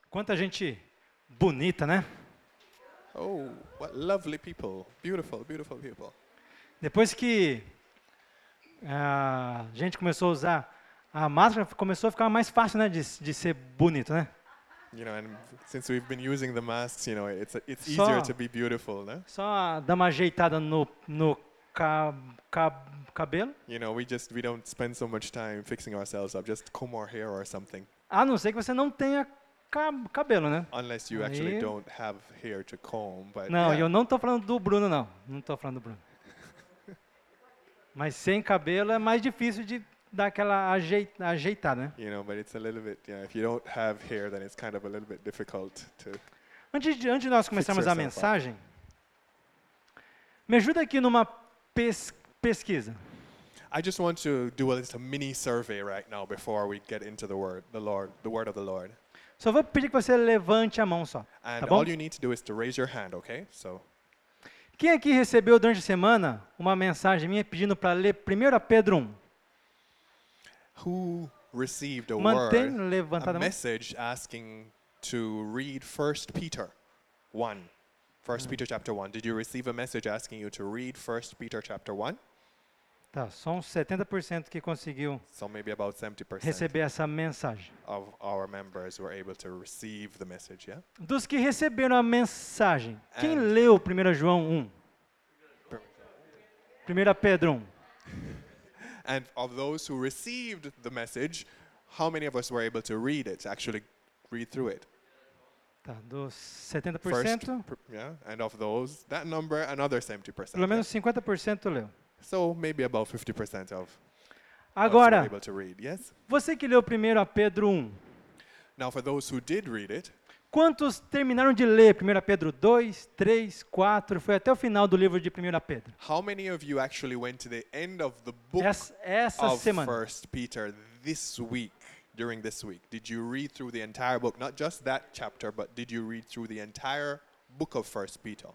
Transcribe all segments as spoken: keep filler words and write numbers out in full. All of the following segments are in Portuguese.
Quanta gente bonita, né? Oh, what lovely people. Beautiful, beautiful people. Depois que a gente começou a usar a máscara, começou a ficar mais fácil, né, de, de ser bonito, né? You know, and since we've been using the masks, you know, it's it's Só- easier to be beautiful, no? Só dar uma ajeitada no, no ca, ca, cabelo, You know, we just we don't spend so much time fixing ourselves up. Just comb our hair or something, a não ser que você não tenha ca, cabelo, né? unless you actually Aí- don't have hair to comb. But Não, yeah. eu não estou falando do Bruno, não. Não estou falando do Bruno. Mas sem cabelo é mais difícil de dar aquela ajei- ajeitada, né? You know, but it's a little bit, yeah, if you don't have hair, then it's kind of a little bit difficult to. Antes de, antes de nós começarmos a yourself up. mensagem, me ajuda aqui numa pes, pesquisa. I just want to do a, just a mini survey right now before we get into the word, the Lord, the word of the Lord. Só vou pedir que você levante a mão só. And Tá bom? all you need to do is to raise your hand, okay? So, Quem aqui recebeu durante a semana uma mensagem minha pedindo para ler primeiro Pedro um? who received a Mantém word, levantada a a mão. message asking to read First Peter one? First Peter chapter one. Did you receive a message asking you to read First Peter chapter one? Tá, só uns setenta por cento que conseguiu So maybe about seventy percent receber essa mensagem. of our members were able to receive the message, yeah? Dos que receberam a mensagem, quem And- leu primeiro João um? primeiro Pedro um. And of those who received the message, how many of us were able to read it, actually read through it? Tá, dos setenta por First, cento, per- yeah, and of those, that number, another seventy percent. pelo yeah? menos cinquenta por cento leu. So maybe about fifty percent of us were Agora, able to read, yes? você que leu primeiro Pedro um, Now for those who did read it, quantos terminaram de ler primeiro Pedro dois, três, quatro, foi até o final do livro de primeiro Pedro? how many of you actually went to the end of the book Essa, essa of semana. First Peter this week, during this week? Did you read through the entire book? Not just that chapter, but did you read through the entire book of First Peter?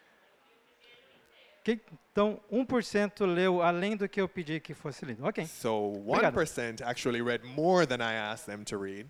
Ok? Então, um por cento leu além do que eu pedi que fosse lido. Ok, So Obrigado. one percent actually read more than I asked them to read.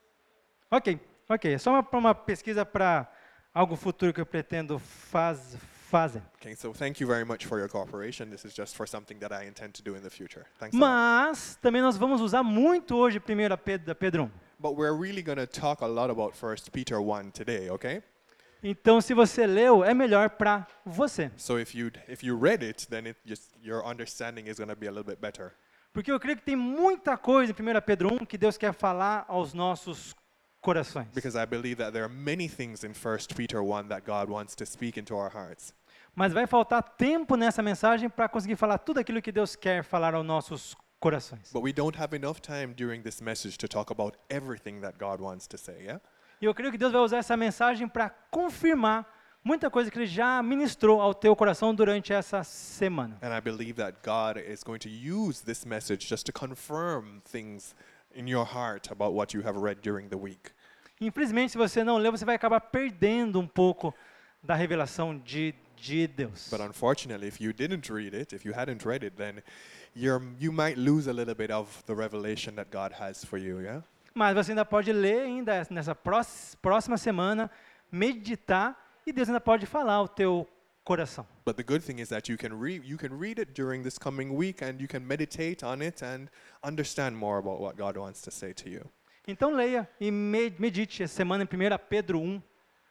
ok, ok. É só uma, uma pesquisa para algo futuro que eu pretendo faz, fazer. Okay, so thank you very much for your cooperation. This is just for something that I intend to do in the future. Thanks a lot. Mas também nós vamos usar muito hoje primeiro Pedro, Pedro um. But we're really going to talk a lot about First Peter one today, okay? Então, se você leu, é melhor para você. So if you if you read it, then it just your understanding is going to be a little bit better. Porque eu creio que tem muita coisa em primeiro Pedro um que Deus quer falar aos nossos corações. Because I believe that there are many things in First Peter one that God wants to speak into our hearts. Mas vai faltar tempo nessa mensagem para conseguir falar tudo aquilo que Deus quer falar aos nossos corações. But we don't have enough time during this message to talk about everything that God wants to say, yeah? E eu creio que Deus vai usar essa mensagem para confirmar muita coisa que Ele já ministrou ao teu coração durante essa semana. And I believe that God is going to use this message just to confirm things in your heart about what you have read during the week. Infelizmente, se você não leu, você vai acabar perdendo um pouco da revelação de, de Deus. But unfortunately, if you didn't read it, if you hadn't read it, then you're, you might lose a little bit of the revelation that God has for you, yeah? Mas você ainda pode ler ainda nessa prós- próxima semana, meditar, e Deus ainda pode falar ao teu coração. But the good thing is that you can read you can read it during this coming week and you can meditate on it and understand more about what God wants to say to you. Então leia e me- medite essa semana em primeiro Pedro um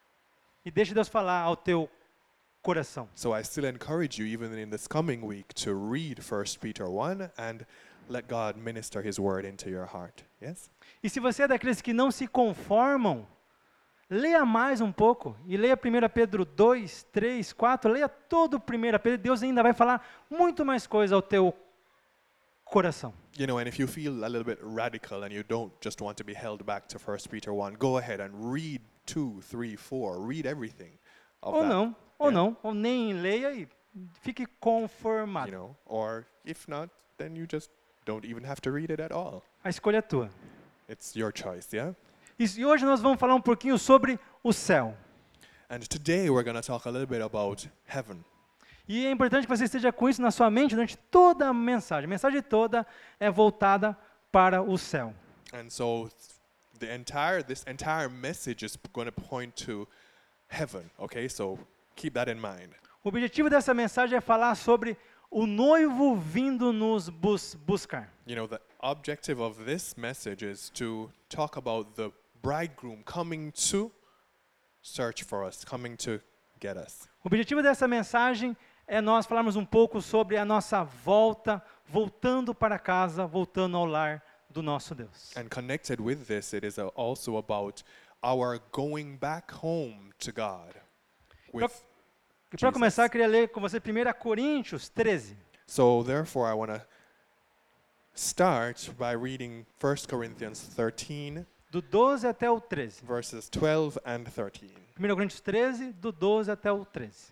e deixe Deus falar ao teu coração. So I still encourage you even in this coming week to read First Peter one and let God minister his word into your heart. Yes? E se você é daqueles que não se conformam, leia mais um pouco e leia primeiro Pedro dois, três, quatro, leia todo o primeiro Pedro, Deus ainda vai falar muito mais coisa ao teu coração. You know, and if you feel a little bit radical and you don't just want to be held back to First Peter one, go ahead and read two, three, four, read everything of Ou that. não, ou Yeah. não, ou nem leia e fique conformado. You know, or if not, then you just don't even have to read it at all. A escolha é tua. It's your choice, yeah? E e hoje nós vamos falar um pouquinho sobre o céu. And today we're going to talk a little bit about heaven. E é importante que você esteja com isso na sua mente durante toda a mensagem. A mensagem toda é voltada para o céu. And so The entire, this entire message is going to point to heaven, okay? So keep that in mind. O objetivo dessa mensagem é falar sobre o noivo vindo nos bus buscar. You know, the objective of this message is to talk about the bridegroom coming to search for us, coming to get us. O objetivo dessa mensagem é nós falarmos um pouco sobre a nossa volta, voltando para casa, voltando ao lar do nosso Deus. And connected with this, it is uh, also about our going back home to God. With E para começar, eu queria ler com você primeiro Coríntios treze. So therefore, I want to start by reading First Corinthians thirteen, Do doze até o treze. verses twelve and thirteen. primeiro Coríntios treze, do doze até o treze.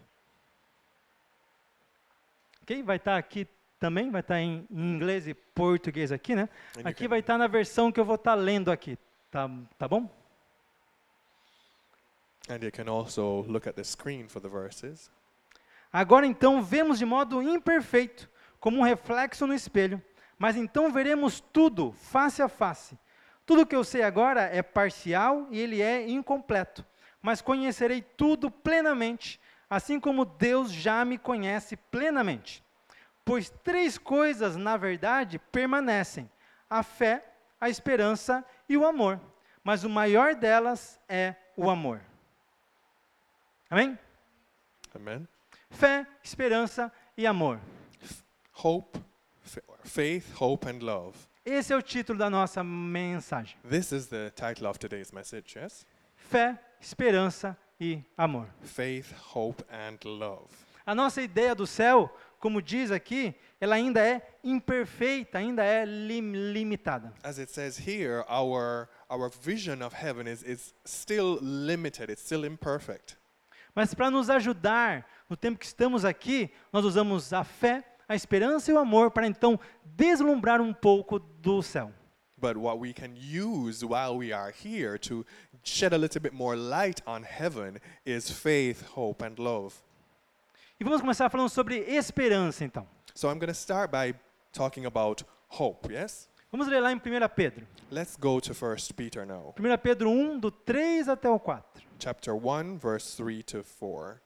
Ok? Vai estar aqui também, vai estar em, em inglês e português aqui, né? And you Aqui can- vai estar na versão que eu vou estar lendo aqui. Tá, tá bom? And you can also look at the screen for the verses. Agora então vemos de modo imperfeito, como um reflexo no espelho, mas então veremos tudo face a face. Tudo que eu sei agora é parcial e ele é incompleto, mas conhecerei tudo plenamente, assim como Deus já me conhece plenamente. Pois três coisas, na verdade, permanecem: a fé, a esperança e o amor. Mas o maior delas é o amor. Amém? Amen. Fé, esperança e amor. Hope, f- faith, hope, and love. Esse é o título da nossa mensagem. This is the title of today's message, yes? Fé, esperança e amor. Faith, hope, and love. A nossa ideia do céu, como diz aqui, ela ainda é imperfeita, ainda é lim- limitada. As it says here, our our vision of heaven is, is still limited, it's still imperfect. Mas para nos ajudar no tempo que estamos aqui, nós usamos a fé, a esperança e o amor para então deslumbrar um pouco do céu. But what we can use while we are here to shed a little bit more light on heaven is faith, hope, and love. E vamos começar falando sobre esperança então. So I'm going to start by talking about hope, yes? Vamos ler lá em primeiro Pedro. Let's go to First Peter now. primeiro Pedro um, do três até o quatro. Chapter one, verse three to four.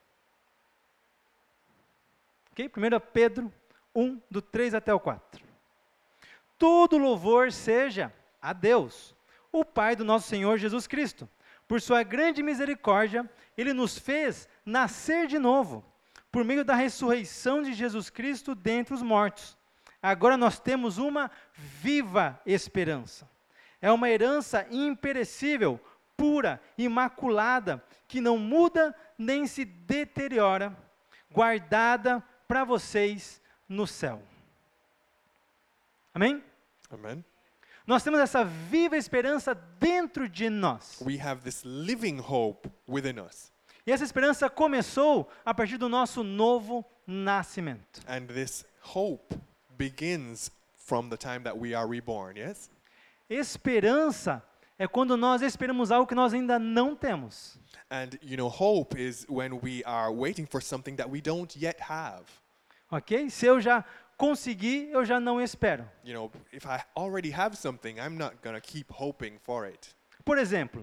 Ok? primeiro Pedro um, do três até o quatro. Todo louvor seja a Deus, o Pai do nosso Senhor Jesus Cristo. Por sua grande misericórdia, Ele nos fez nascer de novo, por meio da ressurreição de Jesus Cristo dentre os mortos. Agora nós temos uma viva esperança. É uma herança imperecível, pura, imaculada, que não muda nem se deteriora, guardada para vocês no céu. Amém? Amen. Nós temos essa viva esperança dentro de nós. We have this living hope within us. E essa esperança começou a partir do nosso novo nascimento. And this hope begins from the time that we are reborn, yes? Esperança é quando nós esperamos algo que nós ainda não temos. And you know, hope is when we are waiting for something that we don't yet have. Ok? Se eu já consegui, eu já não espero. You know, if I already have something, I'm not going to keep hoping for it. Por exemplo,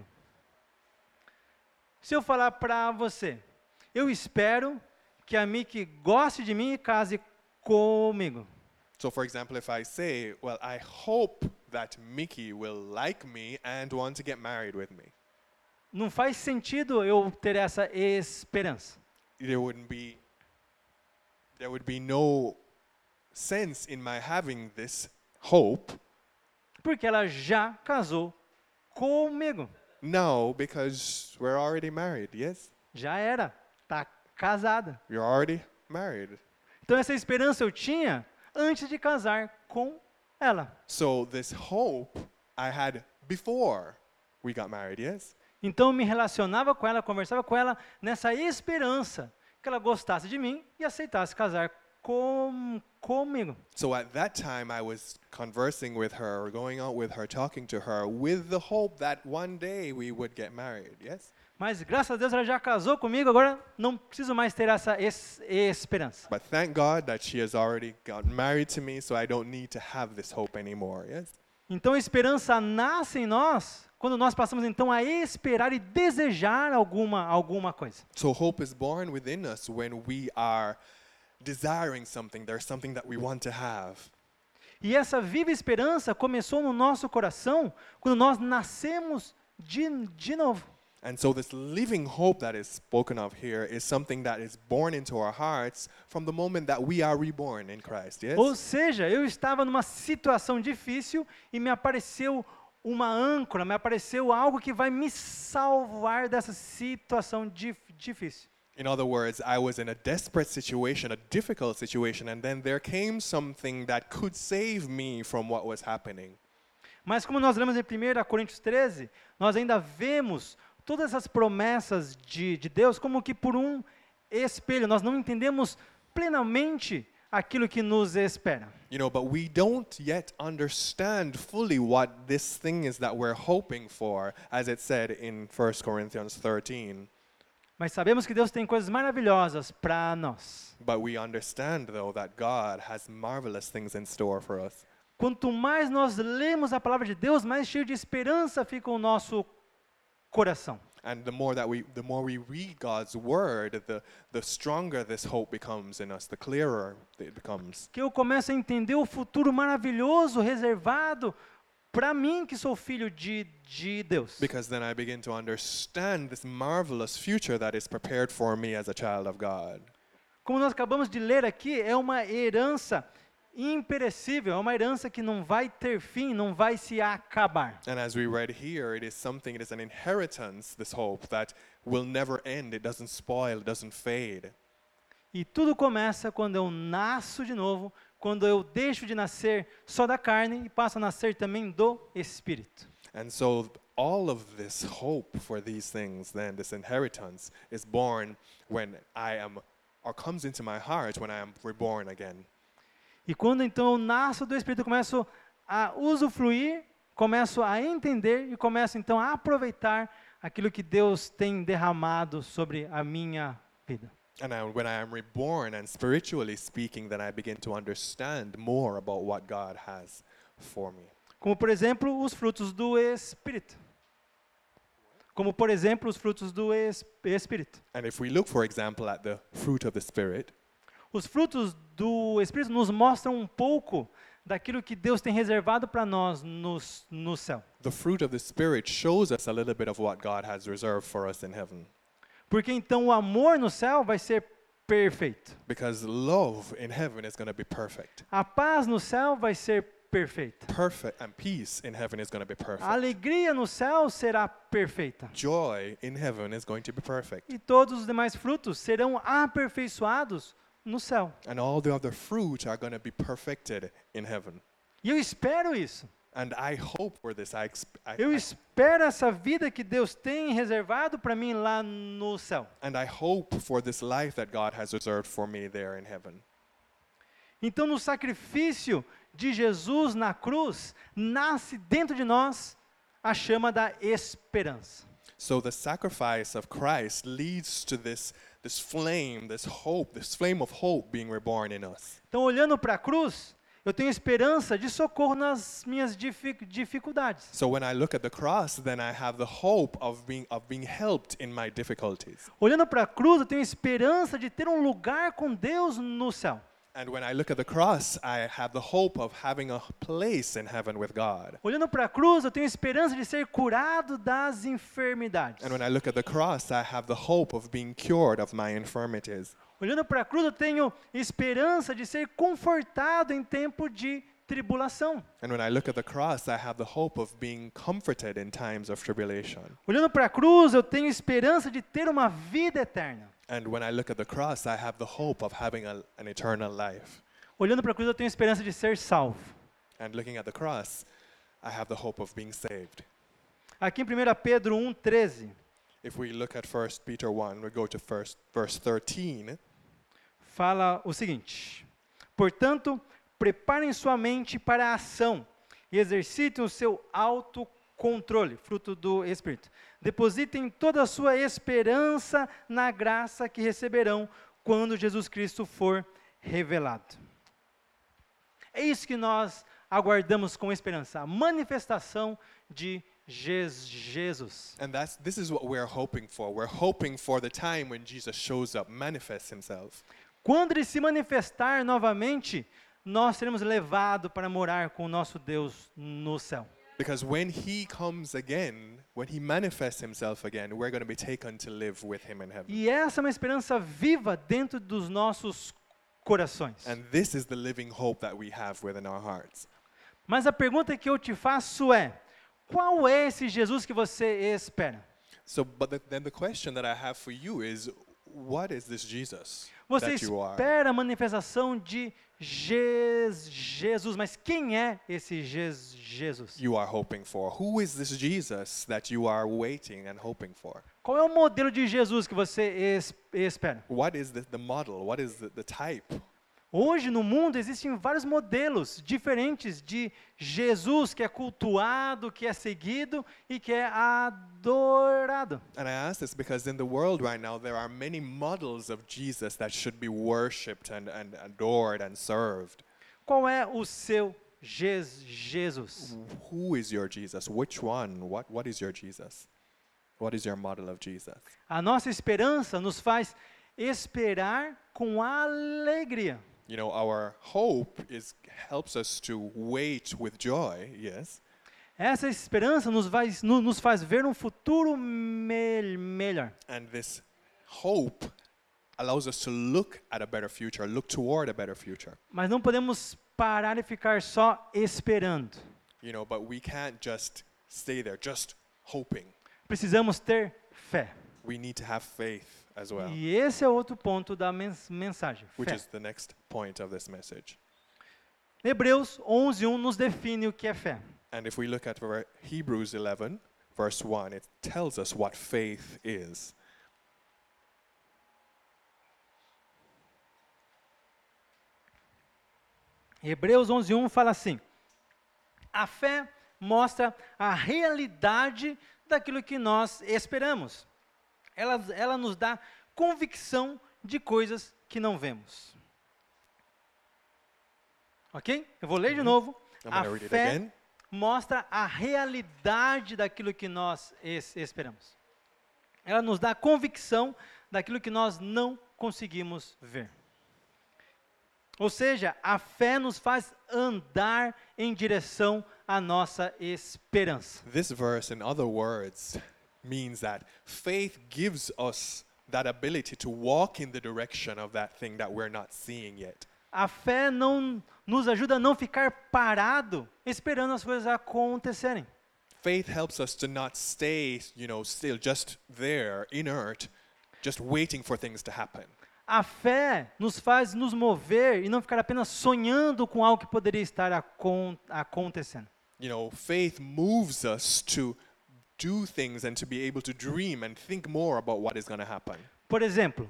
se eu falar para você, eu espero que a Miki goste de mim e case comigo. So for example, if I say, well, I hope that Mickey will like me and want to get married with me. Não faz sentido eu ter essa esperança. There wouldn't be there would be no sense in my having this hope. Porque ela já casou comigo. No, because we're already married, yes? Já era. Está casada. You're already married. Então essa esperança eu tinha antes de casar com ela. So this hope I had before we got married, yes? Então eu me relacionava com ela, conversava com ela nessa esperança que ela gostasse de mim e aceitasse casar com, comigo. So at that time I was conversing with her, going out with her, talking to her with the hope that one day we would get married, yes? Mas graças a Deus ela já casou comigo, agora não preciso mais ter essa es- esperança. But thank God that she has already gotten married to me, so I don't need to have this hope anymore, yes? Então a esperança nasce em nós quando nós passamos então a esperar e desejar alguma, alguma coisa. So hope is born within us when we are desiring something. There's something that we want to have. E essa viva esperança começou no nosso coração quando nós nascemos de, de novo. And so this living hope that is spoken of here is something that is born into our hearts from the moment that we are reborn in Christ, yes? Ou seja, eu estava numa situação difícil e me apareceu uma âncora, me apareceu algo que vai me salvar dessa situação dif- difícil. In other words, I was in a desperate situation, a difficult situation, and then there came something that could save me from what was happening. Mas como nós lemos em primeira Coríntios treze, nós ainda vemos todas essas promessas de, de Deus como que por um espelho. Nós não entendemos plenamente aquilo que nos espera. You know, but we don't yet understand fully what this thing is that we're hoping for, as it said in First Corinthians thirteen. Mas sabemos que Deus tem coisas maravilhosas para nós. But we understand, though, that God has marvelous things in store for us. Quanto mais nós lemos a palavra de Deus, mais cheio de esperança fica o nosso coração. And the more that we, the more we read God's word, the the stronger this hope becomes in us, the clearer it becomes. Que eu começo a entender o futuro maravilhoso reservado para mim que sou filho de, de Deus. Because then I begin to understand this marvelous future that is prepared for me as a child of God. Como nós acabamos de ler aqui, é uma herança imperecível, é uma herança que não vai ter fim, não vai se acabar. And as we read here, it is something, it is an inheritance, this hope, that will never end, it doesn't spoil, it doesn't fade. E tudo começa quando eu nasço de novo, quando eu deixo de nascer só da carne e passo a nascer também do Espírito. And so all of this hope for these things, then, this inheritance, is born when I am, or comes into my heart when I am reborn again. E quando então eu nasço do Espírito, eu começo a usufruir, começo a entender e começo então a aproveitar aquilo que Deus tem derramado sobre a minha vida. And I, when I am reborn and spiritually speaking, then I begin to understand more about what God has for me. Como por exemplo, os frutos do Espírito. Como por exemplo, os frutos do es- Espírito. And if we look, for example, at the fruit of the Spirit, Os frutos do Espírito nos mostram um pouco daquilo que Deus tem reservado para nós no, no céu. the fruit of the Spirit shows us a little bit of what God has reserved for us in heaven. Porque então o amor no céu vai ser perfeito. Because love in heaven is going to be perfect. A paz no céu vai ser perfeita. Perfect, and peace in heaven is going to be perfect. A alegria no céu será perfeita. Joy in heaven is going to be perfect. E todos os demais frutos serão aperfeiçoados no céu. And all the other fruit are going to be perfected in heaven. E eu espero isso. And I hope for this. I, exp- I, Eu I espero essa vida que Deus tem reservado para mim lá no céu. and I hope for this life that God has reserved for me there in heaven. Então, no sacrifício de Jesus na cruz, nasce dentro de nós a chama da esperança. So the sacrifice of Christ leads to this, this flame, this hope, this flame of hope being reborn in us. Então, olhando para a cruz, eu tenho esperança de socorro nas minhas dific- dificuldades. So when I look at the cross, then I have the hope of being, of being helped in my difficulties. Olhando para a cruz, eu tenho esperança de ter um lugar com Deus no céu. And when I look at the cross, I have the hope of having a place in heaven with God. Olhando para a cruz, eu tenho esperança de ser curado das enfermidades. And when I look at the cross, I have the hope of being cured of my infirmities. Olhando para a cruz, eu tenho esperança de ser confortado em tempo de tribulação. And when I look at the cross, I have the hope of being comforted in times of tribulation. Olhando para a cruz, eu tenho esperança de ter uma vida eterna. And when I look at the cross, I have the hope of having a, an eternal life. Olhando para a cruz, eu tenho esperança de ser salvo. And looking at the cross, I have the hope of being saved. Aqui em primeira Pedro um, treze, If we look at First Peter one, we go to first, verse thirteen. fala o seguinte: portanto, preparem sua mente para a ação e exercitem o seu autocontrole, fruto do Espírito. Depositem toda a sua esperança na graça que receberão quando Jesus Cristo for revelado. É isso que nós aguardamos com esperança, a manifestação de Jes- Jesus. And that's this is what we're hoping for. We're hoping for the time when Jesus shows up, manifests himself. Quando ele se manifestar novamente, nós seremos levados para morar com o nosso Deus no céu. Because when he comes again, when he manifests himself again, we're going to be taken to live with him in heaven. E essa é uma esperança viva dentro dos nossos corações. And this is the living hope that we have within our hearts. Mas a pergunta que eu te faço é: qual é esse Jesus que você espera? So, but the, then the question that I have for you is, what is this Jesus Você that you are? espera a manifestação de Jes- Jesus, mas quem é esse Jes- Jesus? You are hoping for? Who is this Jesus that you are waiting and hoping for? Qual é o modelo de Jesus que você es- espera? What is the, the model? What is the, the type? Hoje no mundo existem vários modelos diferentes de Jesus que é cultuado, que é seguido e que é adorado. And I ask this because in the world right now, there are many models of Jesus that should be worshipped and, and adored and served. Qual é o seu Jes- Jesus? Who is your Jesus? Which one? What, what is your Jesus? What is your model of Jesus? A nossa esperança nos faz esperar com alegria. You know, our hope is helps us to wait with joy, yes. Essa esperança nos faz, no- nos faz ver um futuro me- melhor. And this hope allows us to look at a better future, look toward a better future. Mas não podemos parar e ficar só esperando. You know, but we can't just stay there, just hoping. Precisamos ter fé. We need to have faith as well, E esse é outro ponto da mens- mensagem. which Fé. is the next point of this message. Hebreus onze, um nos define o que é fé. And if we look at ver- Hebrews eleven, verse one, it tells us what faith is. Hebreus onze, um fala assim: a fé mostra a realidade daquilo que nós esperamos. Ela, ela nos dá convicção de coisas que não vemos. Ok? Eu vou ler de novo. I'm A going to read it fé again. mostra a realidade daquilo que nós es- esperamos. Ela nos dá convicção daquilo que nós não conseguimos ver. Ou seja, a fé nos faz andar em direção à nossa esperança. This verse, in other words, means that faith gives us that ability to walk in the direction of that thing that we're not seeing yet. A fé não nos ajuda a não ficar parado esperando as coisas acontecerem. Faith helps us to not stay, you know, still just there, inert, just waiting for things to happen. A fé nos faz nos mover e não ficar apenas sonhando com algo que poderia estar acon- acontecendo. You know, faith moves us to do things and to be able to dream and think more about what is going to happen. Por exemplo,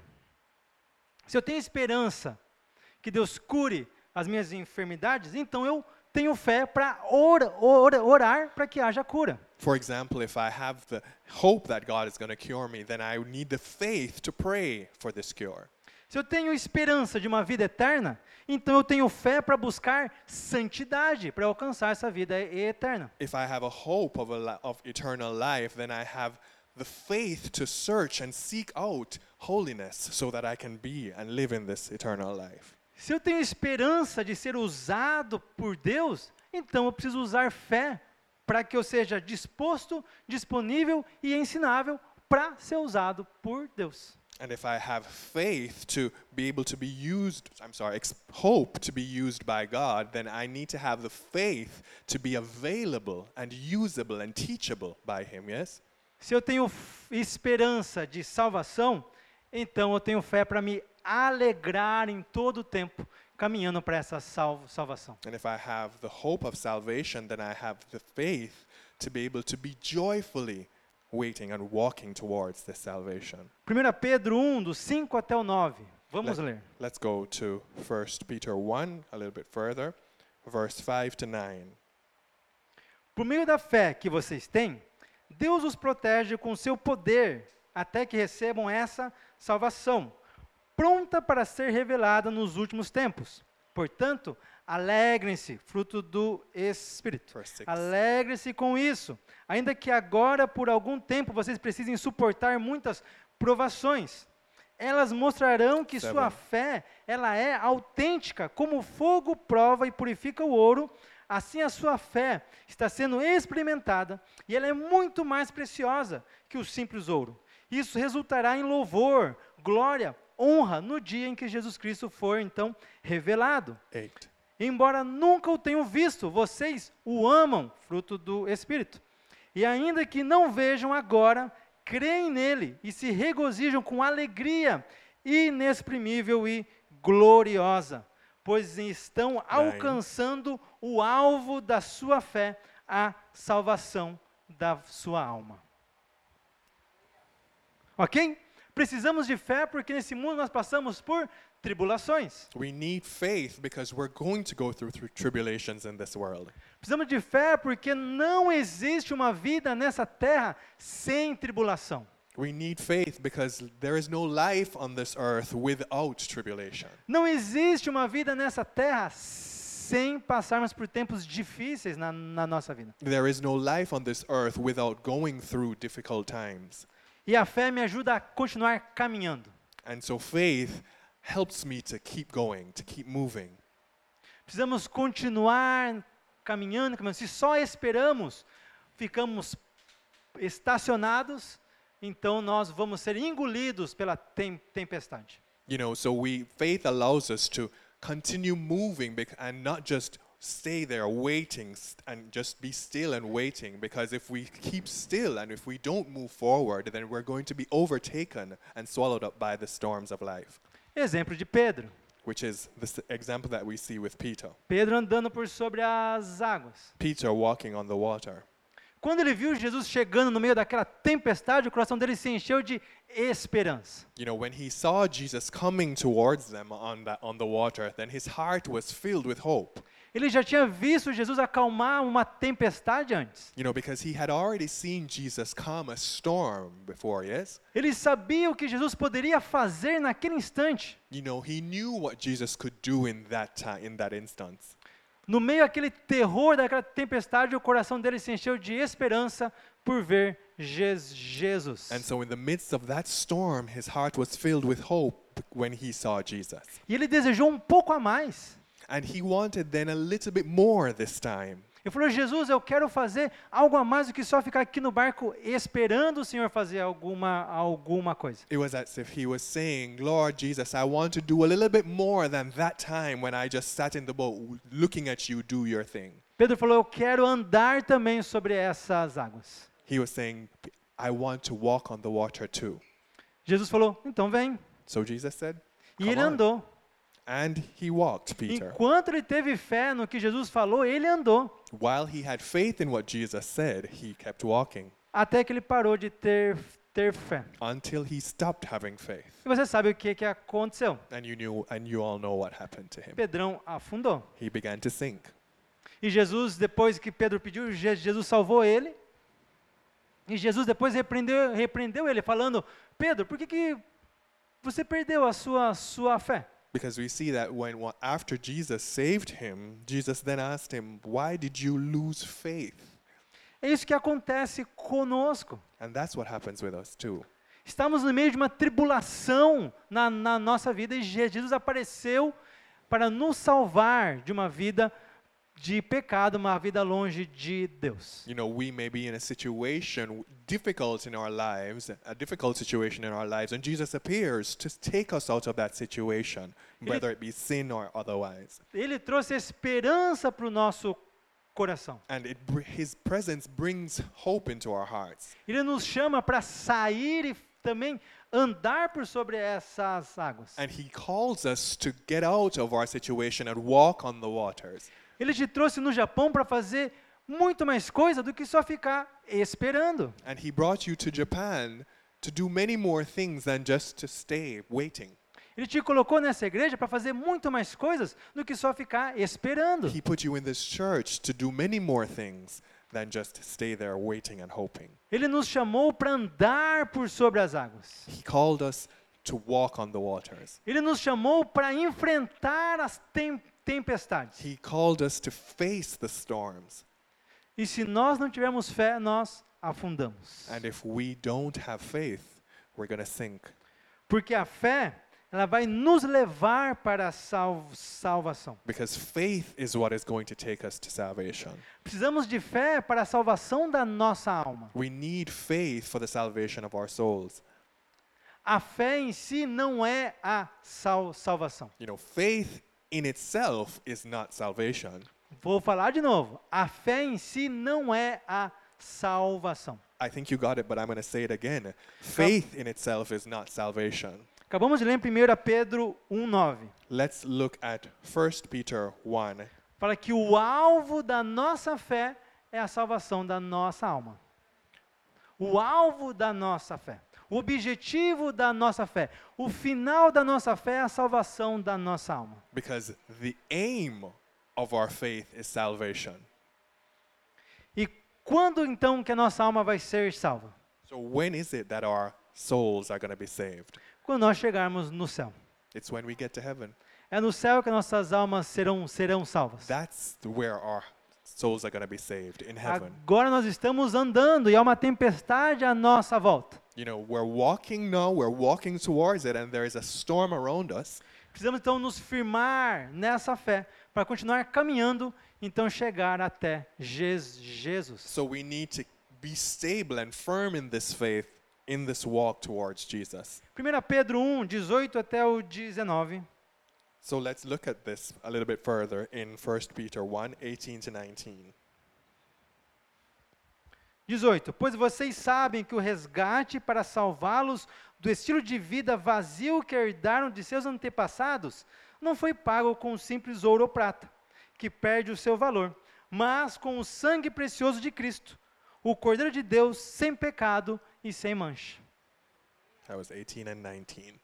se eu tenho esperança que Deus cure as minhas enfermidades, então eu tenho fé para ora, ora, orar para que haja cura. For example, if I have the hope that God is going to cure me, then I need the faith to pray for this cure. Se eu tenho esperança de uma vida eterna, então eu tenho fé para buscar santidade, para alcançar essa vida e- eterna. If I have a hope of, a li- of eternal life, then I have the faith to search and seek out holiness so that I can be and live in this eternal life. Se eu tenho esperança de ser usado por Deus, então eu preciso usar fé para que eu seja disposto, disponível e ensinável para ser usado por Deus. And if I have faith to be able to be used, I'm sorry, ex- hope to be used by God, then I need to have the faith to be available and usable and teachable by Him, yes? Se eu tenho f- esperança de salvação, então eu tenho fé para me alegrar em todo o tempo caminhando para essa salvo, salvação. And if I have the hope of salvation, then I have the faith to be able to be joyfully waiting and walking towards this salvation. primeira Pedro um, do cinco até o nove. Vamos ler. Let's go to First Peter one, a little bit further, verse five to nine. Por meio da fé que vocês têm, Deus os protege com seu poder até que recebam essa salvação, pronta para ser revelada nos últimos tempos. Portanto, Alegrem-se, fruto do Espírito. Verse six. Alegrem-se com isso. Ainda que agora, por algum tempo, vocês precisem suportar muitas provações. Elas mostrarão que Seven. sua fé, ela é autêntica, como o fogo prova e purifica o ouro. Assim a sua fé está sendo experimentada e ela é muito mais preciosa que o simples ouro. Isso resultará em louvor, glória, honra no dia em que Jesus Cristo for então revelado. Eight. Embora nunca o tenham visto, vocês o amam, fruto do Espírito. E ainda que não vejam agora, creem nele e se regozijam com alegria inexprimível e gloriosa, pois estão alcançando o alvo da sua fé, a salvação da sua alma. Ok? Precisamos de fé porque nesse mundo nós passamos por tribulações. We need faith because we're going to go through, through tribulations in this world. Precisamos de fé porque não existe uma vida nessa terra sem tribulação. We need faith because there is no life on this earth without tribulation. Não existe uma vida nessa terra sem passarmos por tempos difíceis na, na nossa vida. There is no life on this earth without going through difficult times. E a fé me ajuda a continuar caminhando. And so faith helps me to keep going, to keep moving. Precisamos continuar caminhando, caminhando. Se só esperamos, ficamos estacionados, então nós vamos ser engolidos pela tem, tempestade. You know, so we faith allows us to continue moving bec- and not just stay there waiting st- and just be still and waiting, because if we keep still and if we don't move forward, then we're going to be overtaken and swallowed up by the storms of life, Exemplo de Pedro. which is the s- example that we see with Peter. Pedro andando por sobre as águas. Peter walking on the water. Quando ele viu Jesus chegando no meio daquela tempestade, o coração dele se encheu de esperança. You know, when he saw Jesus coming towards them on that on the water, then his heart was filled with hope. Ele já tinha visto Jesus acalmar uma tempestade antes. You know, because he had already seen Jesus calm a storm before, yes? Ele sabia o que Jesus poderia fazer naquele instante. You know, he knew what Jesus could do in that time, in that instance. No meio daquele terror, daquela tempestade, o coração dele se encheu de esperança por ver Je- Jesus. And so in the midst of that storm, his heart was filled with hope when he saw Jesus. E ele desejou um pouco a mais. And he wanted then a little bit more this time. Ele falou, Jesus, eu quero fazer algo a mais do que só ficar aqui no barco esperando o Senhor fazer alguma, alguma coisa. It was as if he was saying, Lord Jesus, I want to do a little bit more than that time when I just sat in the boat looking at you do your thing. Pedro falou, eu quero andar também sobre essas águas. He was saying, I want to walk on the water too. Jesus falou, então vem. So Jesus said, E "Come ele on." andou. And he walked, Peter. Enquanto ele teve fé no que Jesus falou, ele andou. While he had faith in what Jesus said, he kept walking Até que ele parou de ter, ter fé. until he stopped having faith. E você sabe o que, que aconteceu. And you knew, and you all know what happened to him. Pedrão afundou. He began to sink. E Jesus, depois que Pedro pediu, Je- Jesus salvou ele. E Jesus depois repreendeu, repreendeu ele, falando, Pedro, por que, que você perdeu a sua, sua fé? Because we see that when wa- after Jesus saved him, Jesus then asked him, "Why did you lose faith?" É isso que acontece conosco. And that's what happens with us too. Estamos no meio de uma tribulação na, na nossa vida e Je- Jesus apareceu para nos salvar de uma vida de pecado, uma vida longe de Deus. You know, we may be in a situation difficult in our lives, a difficult situation in our lives, and Jesus appears to take us out of that situation, whether it be sin or otherwise. Ele trouxe esperança para o nosso coração. And it, br- his presence brings hope into our hearts. Ele nos chama para sair e também andar por sobre essas águas. And he calls us to get out of our situation and walk on the waters. Ele te trouxe no Japão para fazer muito mais coisa do que só ficar esperando. And he brought you to Japan to do many more things than just to stay waiting. Ele te colocou nessa igreja para fazer muito mais coisas do que só ficar esperando. He put you in this church to do many more things than just stay there waiting and hoping. Ele nos chamou para andar por sobre as águas. He called us to walk on the waters. Ele nos chamou para enfrentar as tem- tempestades. He called us to face the storms. E se nós não tivermos fé, nós afundamos. And if we don't have faith, we're going to sink. Porque a fé, ela vai nos levar para a sal- salvação. Because faith is what is going to take us to salvation. Precisamos de fé para a salvação da nossa alma. We need faith for the salvation of our souls. A fé em si não é a sal- salvação. You know, faith in itself is not salvation. Vou falar de novo. A fé em si não é a salvação. I think you got it, but I'm going to say it again. Faith in itself is not salvation. Acabamos de ler em primeira Pedro um, nove. Let's look at First Peter one. Fala que o alvo da nossa fé é a salvação da nossa alma. O alvo da nossa fé. O objetivo da nossa fé. O final da nossa fé é a salvação da nossa alma. Because the aim of our faith is salvation. E quando então que a nossa alma vai ser salva? So when is it that our souls are going to be saved? Quando nós chegarmos no céu. It's when we get to heaven. É no céu que nossas almas serão, serão salvas. That's where our souls are going to be saved, in heaven. Agora nós estamos andando e há uma tempestade à nossa volta. You know, we're walking now, we're walking towards it, and there is a storm around us. Precisamos então nos firmar nessa fé para continuar caminhando, então chegar até Jes- Jesus. So we need to be stable and firm in this faith, in this walk towards Jesus. primeira Pedro um, dezoito até o dezenove. So let's look at this a little bit further in First Peter one, eighteen to nineteen. dezoito. Pois vocês sabem que o resgate para salvá-los do estilo de vida vazio que herdaram de seus antepassados não foi pago com simples ouro ou prata, que perde o seu valor, mas com o sangue precioso de Cristo, o Cordeiro de Deus sem pecado e sem mancha. That was eighteen and nineteen.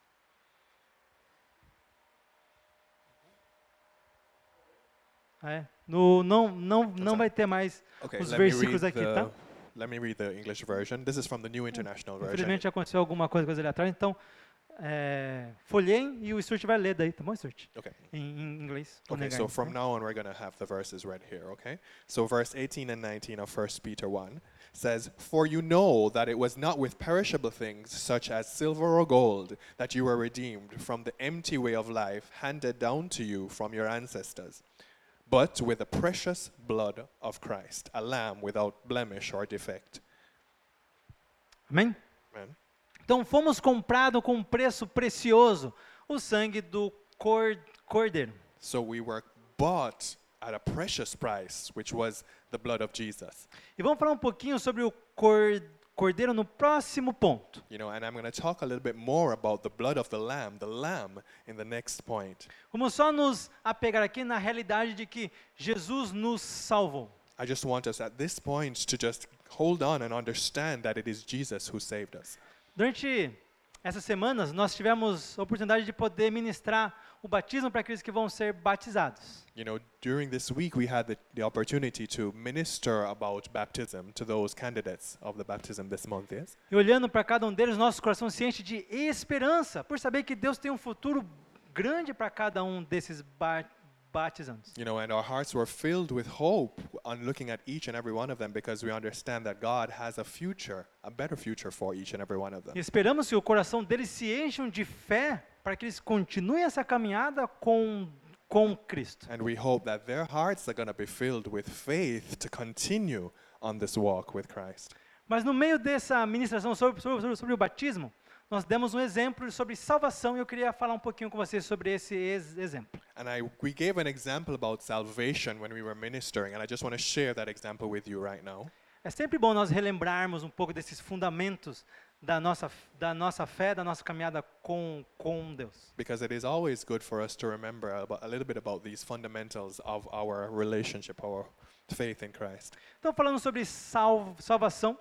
É, no, não não, não sorry. vai ter mais Okay, os let me read versículos aqui, the tá? let me read the English version. This is from the New International Version. Infelizmente aconteceu alguma coisa, coisa ali atrás, então é, folheiem e o Stuart vai ler daí, tá bom, Stuart? Okay. Em, em inglês. vou Okay, negar so isso, from tá? now on we're going to have the verses read here, okay? So verse eighteen and nineteen of First Peter one says, "For you know that it was not with perishable things such as silver or gold that you were redeemed from the empty way of life handed down to you from your ancestors, but with the precious blood of Christ, a lamb without blemish or defect." Amém? Amen. Então fomos comprados com um preço precioso, o sangue do cor, cordeiro. So we were bought at a precious price, which was the blood of Jesus. E vamos falar um pouquinho sobre o cor, cordeiro no próximo ponto. You know, and I'm going to talk a little bit more about the blood of the lamb, the lamb, in the next point. Vamos só nos apegar aqui na realidade de que Jesus nos salvou. I just want us at this point to just hold on and understand that it is Jesus who saved us. Durante essas semanas, nós tivemos a oportunidade de poder ministrar o batismo para aqueles que vão ser batizados. You know, during this week we had the, the opportunity to minister about baptism to those candidates of the baptism this month, yes? E olhando para cada um deles, nosso coração se enche de esperança, por saber que Deus tem um futuro grande para cada um desses ba batizandos. You know, and our hearts were filled with hope on looking at each and every one of them because we understand that God has a future, a better future for each and every one of them. E esperamos que o coração deles se encham de fé para que eles continuem essa caminhada com com Cristo. And we hope that their hearts are going to be filled with faith to continue on this walk with Christ. Mas no meio dessa ministração sobre, sobre, sobre o batismo, nós demos um exemplo sobre salvação e eu queria falar um pouquinho com vocês sobre esse ex exemplo. And I, we gave an example about salvation when we were ministering, and I just want to share that example with you right now. É sempre bom nós relembrarmos um pouco desses fundamentos da nossa da nossa fé, da nossa caminhada com com Deus. Because it is always good for us to remember about, a little bit about these fundamentals of our relationship, our faith in Christ. Então, falando sobre sal, salvação,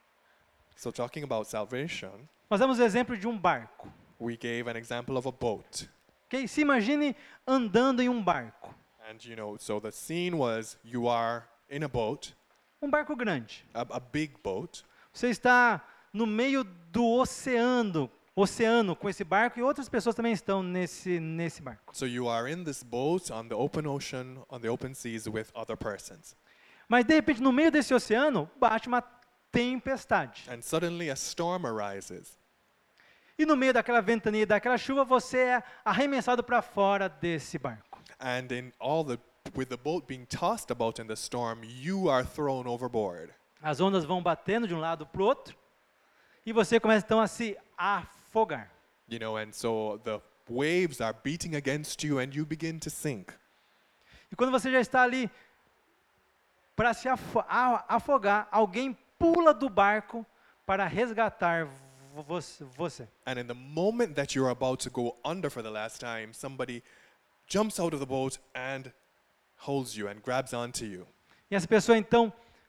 So talking about salvation, nós damos o exemplo de um barco. we gave an example of a boat. Okay? Se imagine andando em um barco. And you know, so the scene was you are in a boat, Um barco grande. a, a big boat. Você está no meio do oceano, oceano com esse barco e outras pessoas também estão nesse nesse barco. So you are in this boat on the open ocean, on the open seas with other persons. Mas de repente no meio desse oceano bate uma tempestade. And suddenly a storm arises. E no meio daquela ventania, daquela chuva, você é arremessado para fora desse barco. And in all the with the boat being tossed about in the storm, you are thrown overboard. As ondas vão batendo de um lado para o outro e você começa então a se afogar. You know, and so the waves are beating against you and you begin to sink. E quando você já está ali para se afo- a- afogar, alguém pula do barco para resgatar vo- vo- você. And in the moment that you're about to go under for the last time, somebody jumps out of the boat and holds you and grabs onto you. E essa pessoa então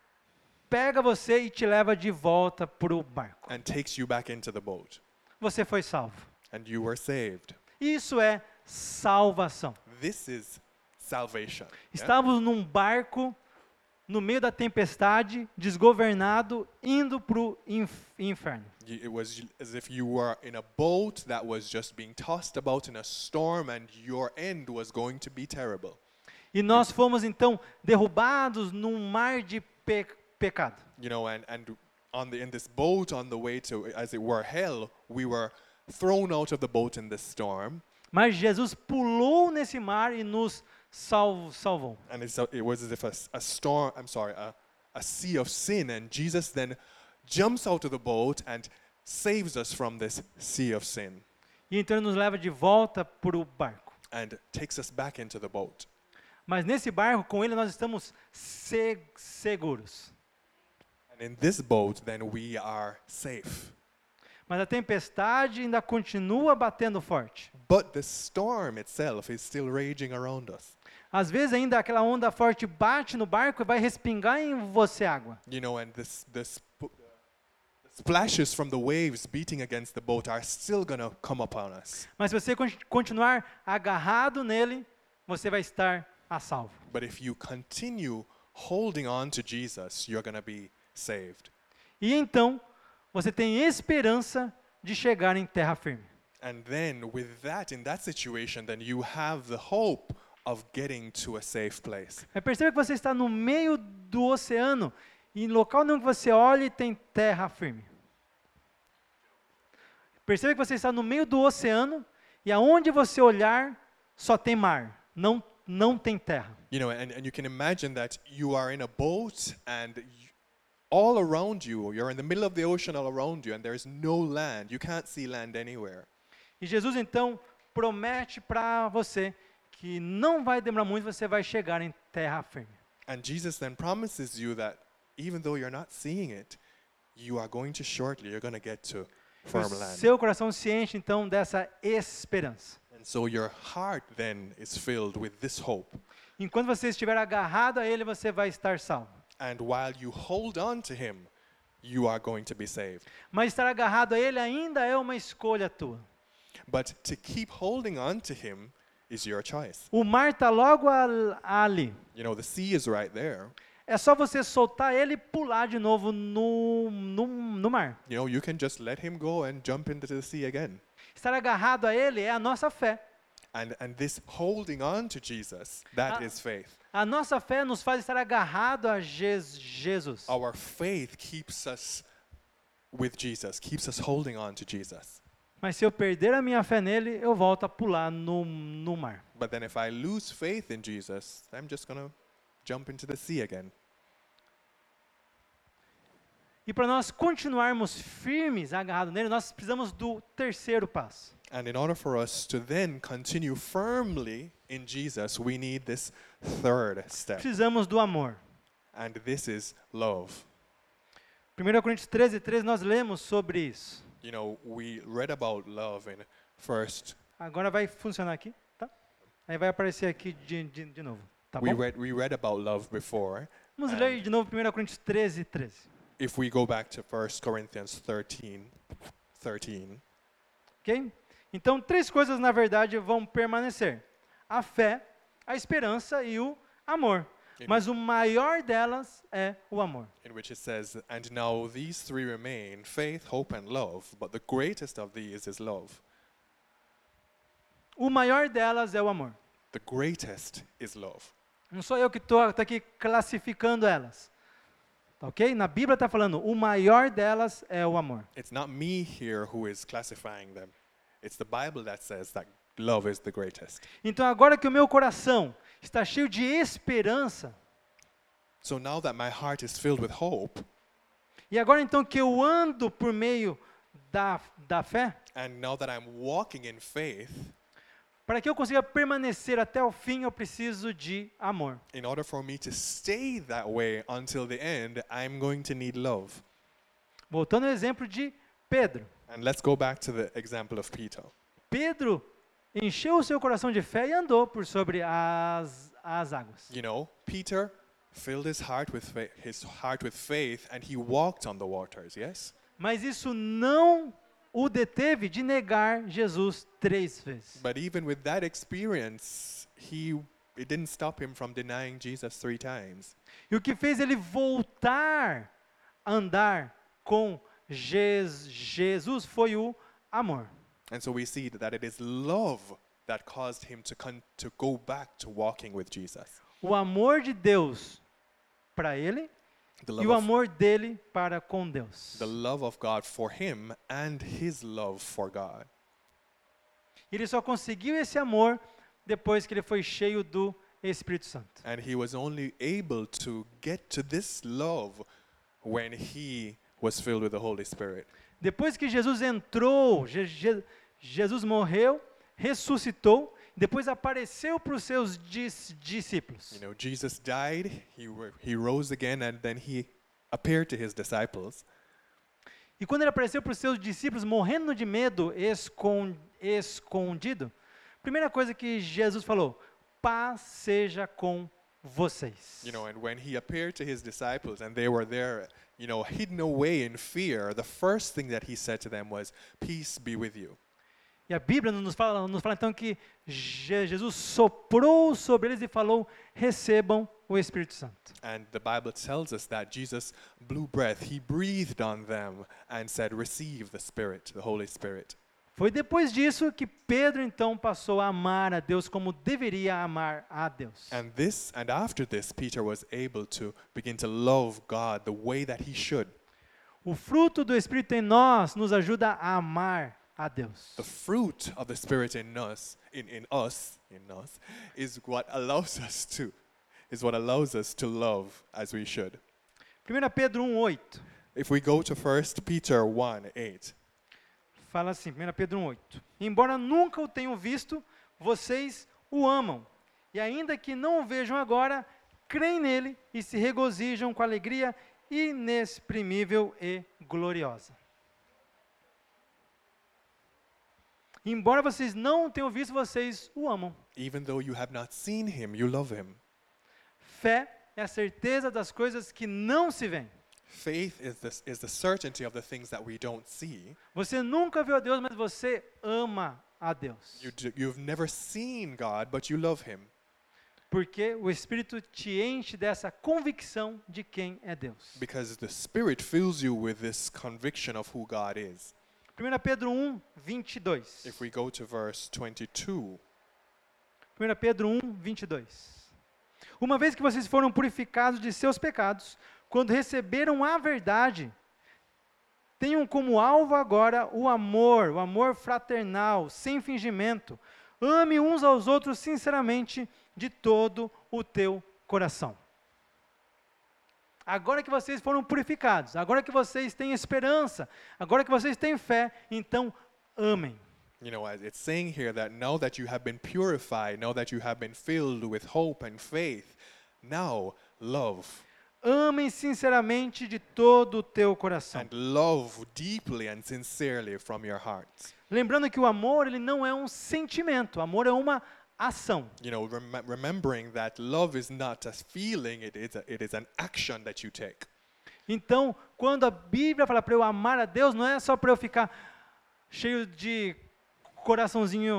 pega você e te leva de volta para o barco. And takes you back into the boat. Você foi salvo. And you were saved. Isso é salvação. This is salvation. yeah? Estávamos num barco no meio da tempestade, desgovernado, indo para o inf- inferno. Y- It was as if you were in a boat that was just being tossed about in a storm and your end was going to be terrible. E nós fomos então derrubados num mar de pe- pecado. You know, and, and on the in this boat on the way to, as it were, hell, we were thrown out of the boat in this storm. Mas Jesus pulou nesse mar e nos sal- salvou. And it's, a- it was as if a, s- a storm, I'm sorry, a, a sea of sin. And Jesus then jumps out of the boat and saves us from this sea of sin E então ele nos leva de volta para o barco. and takes us back into the boat. Mas nesse barco, com ele, nós estamos se- seguros. And in this boat, then we are safe. Mas a tempestade ainda continua batendo forte. But the storm itself is still raging around us. Às vezes ainda aquela onda forte bate no barco e vai respingar em você água. You know, and this, this sp- the splashes from the waves beating against the boat are still going to come upon us. Mas se você con- continuar agarrado nele, você vai estar a salvo. But if you continue holding on to Jesus, you're going to be saved. E então, você tem esperança de chegar em terra firme. And then with that, in that situation, then you have the hope of getting to a safe place. Mas perceba que você está no meio do oceano e em local nenhum que você olhe tem terra firme. Perceba que você está no meio do oceano e aonde você olhar só tem mar, não, não tem terra. You know, and, and you can imagine that you are in a boat and y- all around you, you're in the middle of the ocean all around you and there's no land. You can't see land anywhere. E Jesus então promete para você que não vai demorar muito, você vai chegar em terra firme. And Jesus then promises you that even though you're not seeing it, you are going to shortly, you're going to get to O firm land. seu coração se enche então dessa esperança. And so your heart then is filled with this hope. Enquanto você estiver agarrado a ele, você vai estar salvo. And while you hold on to him, you are going to be saved. Mas estar agarrado a ele ainda é uma escolha tua. But to keep holding on to him is your choice. O mar está logo al- ali. You know, the sea is right there. É só você soltar ele e pular de novo no, no, no mar. You know, you can just let him go and jump into the sea again. Estar agarrado a ele é a nossa fé. And, and this holding on to Jesus, that Ah. is faith. A nossa fé nos faz estar agarrado a Jes- Jesus. Our faith keeps us with Jesus, keeps us holding on to Jesus. Mas se eu perder a minha fé nele, eu volto a pular no, no mar. But then if I lose faith in Jesus, I'm just going to jump into the sea again. E para nós continuarmos firmes, agarrados nele, nós precisamos do terceiro passo. And in order for us to then continue firmly in Jesus, we need this third step. Precisamos do amor. And this is love. primeira Coríntios treze, treze, nós lemos sobre isso. You know, we read about love in First. Agora vai funcionar aqui, tá? Aí vai aparecer aqui de, de, de novo, tá We bom? read we read about love before. Vamos and- ler de novo primeira Coríntios treze, treze. If we go back to First Corinthians thirteen, thirteen, Ok? Então, três coisas, na verdade, vão permanecer. A fé, a esperança e o amor. Mas o maior delas é o amor. In which it says, and now these three remain, faith, hope, and love, but the greatest of these is love. O maior delas é o amor. The greatest is love. Não sou eu que estou aqui classificando elas. Tá ok? Na Bíblia está falando, o maior delas é o amor. It's not me here who is classifying them. It's the Bible that says that love is the greatest. Então agora que o meu coração está cheio de esperança, So now that my heart is filled with hope, e agora então que eu ando por meio da, da fé, and now that I'm walking in faith, para que eu consiga permanecer até o fim, eu preciso de amor. in order for me to stay that way until the end, I'm going to need love. Voltando ao exemplo de Pedro. And let's go back to the example of Peter. Pedro encheu o seu coração de fé e andou por sobre as, as águas. You know, Peter filled his heart with fa- his heart with faith, and he walked on the waters. Yes, Mas isso não o deteve de negar Jesus três vezes. but even with that experience, he it didn't stop him from denying Jesus three times. E o que fez ele voltar a andar com Jes- Jesus foi o amor. And so we see that it is love that caused him to con- to go back to walking with Jesus. O amor de Deus para ele The e love, o of, amor dele para com Deus. the love of God for him and his love for God. Ele só conseguiu esse amor depois que ele foi cheio do Espírito Santo. And he was only able to get to this love when he was filled with the Holy Spirit. Depois que Jesus entrou, Je- Je- Jesus morreu, ressuscitou, depois apareceu para os seus dis- discípulos. You know, Jesus died, he, ro- he rose again, and then he appeared to his disciples. E quando ele apareceu para os seus discípulos, morrendo de medo, escon- escondido, a primeira coisa que Jesus falou, paz seja com vocês. You know, and when he appeared to his disciples and they were there, you know, hidden away in fear, the first thing that he said to them was, peace be with you. E a Bíblia nos fala, nos fala então que Je- Jesus soprou sobre eles e falou, recebam o Espírito Santo. And the Bible tells us that Jesus blew breath, he breathed on them and said, receive the Spirit, the Holy Spirit. Foi depois disso que Pedro então passou a amar a Deus como deveria amar a Deus. And this, and after this, Peter was able to begin to love God the way that he should. O fruto do Espírito em nós nos ajuda a amar a Deus. The fruit of the Spirit in us, in, in us, in us, is what allows us to, is what allows us to love as we should. primeira Pedro um, oito, If we go to First Peter one eight, fala assim, primeira Pedro um, oito. Embora nunca o tenham visto, vocês o amam. E ainda que não o vejam agora, creem nele e se regozijam com alegria inexprimível e gloriosa. Embora vocês não o tenham visto, vocês o amam. even though you have not seen him, you love him. Fé é a certeza das coisas que não se veem. Faith is the, is the certainty of the things that we don't see. Você nunca viu a Deus, mas você ama a Deus. You do, you've never seen God, but you love him. Porque o Espírito te enche dessa convicção de quem é Deus. Because the Spirit fills you with this conviction of who God is. primeira Pedro um, vinte e dois. If we go to verse twenty-two, primeira Pedro um, vinte e dois. Uma vez que vocês foram purificados de seus pecados, quando receberam a verdade, tenham como alvo agora o amor, o amor fraternal, sem fingimento. Ame uns aos outros sinceramente, de todo o teu coração. Agora que vocês foram purificados, agora que vocês têm esperança, agora que vocês têm fé, então amem. you know, as it's saying here that now that you have been purified, now that you have been filled with hope and faith, now love. Amem sinceramente de todo o teu coração. And love deeply and sincerely from your hearts. Lembrando que o amor, ele não é um sentimento, o amor é uma ação. You know, rem- remembering that love is not a feeling, it is, a, it is an action that you take. Então, quando a Bíblia fala para eu amar a Deus, não é só para eu ficar cheio de coraçãozinho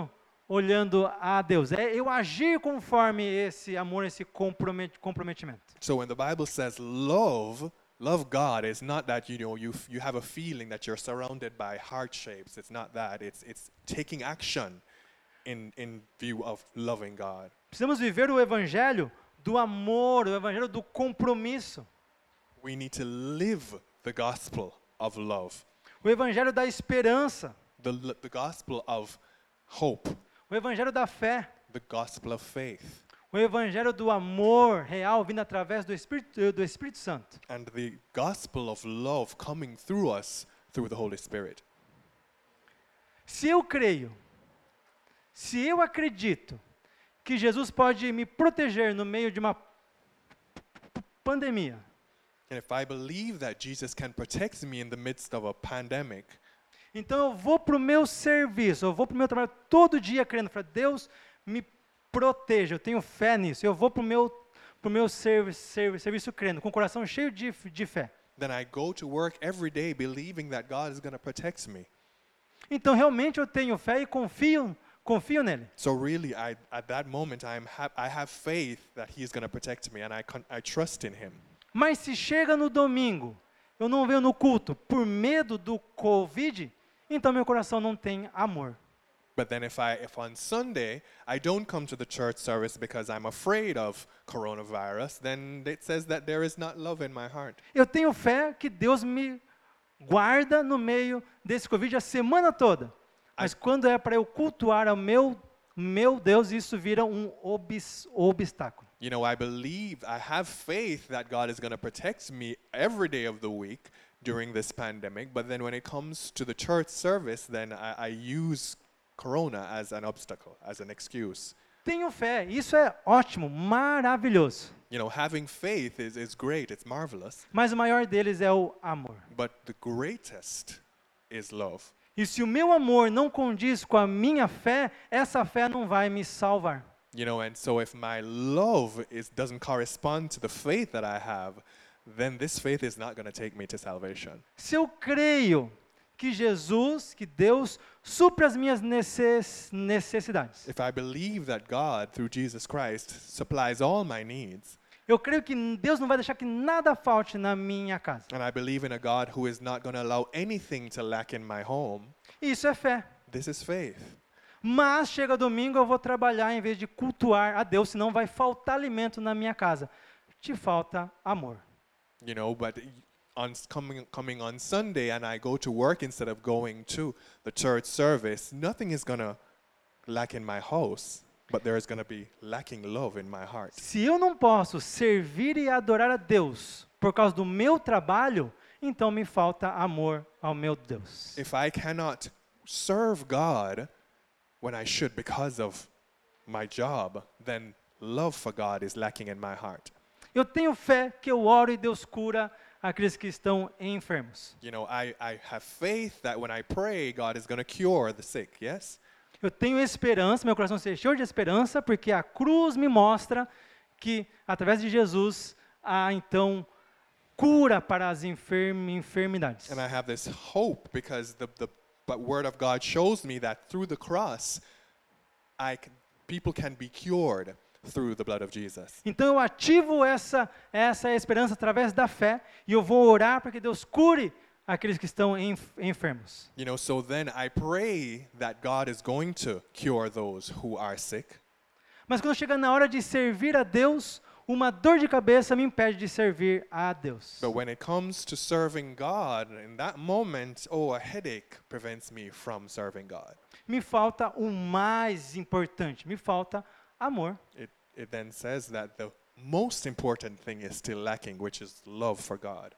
olhando a Deus. É eu agir conforme esse amor, esse compromet- comprometimento. So when the Bible says love, love God is not that you know you f- you have a feeling that you're surrounded by heart shapes. It's not that. It's it's taking action in in view of loving God. Precisamos viver o evangelho do amor, o evangelho do compromisso. We need to live the gospel of love, O evangelho da esperança, the l- the gospel of hope, o evangelho da fé, the gospel of faith, o evangelho do amor real vindo através do Espírito, do Espírito Santo. and the gospel of love coming through us through the Holy Spirit. Se eu creio, se eu acredito que Jesus pode me proteger no meio de uma p- p- pandemia, And if I believe that Jesus can protect me in the midst of a pandemic, então eu vou para o meu serviço, eu vou para o meu trabalho todo dia crendo, para Deus me proteja, eu tenho fé nisso, eu vou para o meu, pro meu servi servi serviço crendo, com o coração cheio de, f- de fé. then I go to work every day believing that God is going to protect me. Então realmente eu tenho fé e confio, confio nele. So really, I, at that moment, I, am ha- I have faith that He is going to protect me, and I, con- I trust in Him. Mas se chega no domingo, eu não venho no culto por medo do Covid, então meu coração não tem amor. But then if I if on Sunday I don't come to the church service because I'm afraid of coronavirus, then it says that there is not love in my heart. Eu tenho fé que Deus me guarda no meio desse Covid a semana toda. Mas quando é para eu cultuar ao meu, meu Deus, isso vira um obs, obstáculo. You know, I believe, I have faith that God is going to protect me every day of the week during this pandemic, but then when it comes to the church service, then I, I use corona as an obstacle, as an excuse. Tenho fé, isso é ótimo, maravilhoso. You know, having faith is, is great, it's marvelous, Mas o maior deles é o amor. but the greatest is love. E se o meu amor não condiz com a minha fé, essa fé não vai me salvar. You know, and so if my love is doesn't correspond to the faith that I have, then this faith is not going to take me to salvation. Se eu creio que Jesus, que Deus, supre as minhas necess, necessidades. If I believe that God, through Jesus Christ, supplies all my needs, Eu creio que Deus não vai deixar que nada falte na minha casa. and I believe in a God who is not going to allow anything to lack in my home, Isso é fé. this is faith. Mas chega domingo eu vou trabalhar em vez de cultuar a Deus, senão vai faltar alimento na minha casa. Te falta amor. You know, but on s- coming coming on Sunday and I go to work instead of going to the church service, nothing is going to lack in my house, but there is going to be lacking love in my heart. Se eu não posso servir e adorar a Deus por causa do meu trabalho, então me falta amor ao meu Deus. If I cannot serve God when I should because of my job, then love for God is lacking in my heart. Eu tenho fé que eu oro e Deus cura aqueles que estão enfermos. You know, I, I have faith that when I pray, God is going to cure the sick, yes? Eu tenho esperança, meu coração se encheu de esperança, porque a cruz me mostra que, através de Jesus, há então cura para as enferm enfermidades. And I have this hope because the, the but Word of God shows me that through the cross, I can, people can be cured through the blood of Jesus. Então eu ativo essa, essa esperança através da fé e eu vou orar para que Deus cure aqueles que estão enf enfermos. You know, so then I pray that God is going to cure those who are sick. Mas quando chega na hora de servir a Deus, uma dor de cabeça me impede de servir a Deus. But when it comes to serving God, in that moment, oh, a headache prevents me from serving God. Me falta o mais importante, me falta amor. It, it then says that the most important thing is still lacking, which is love for God.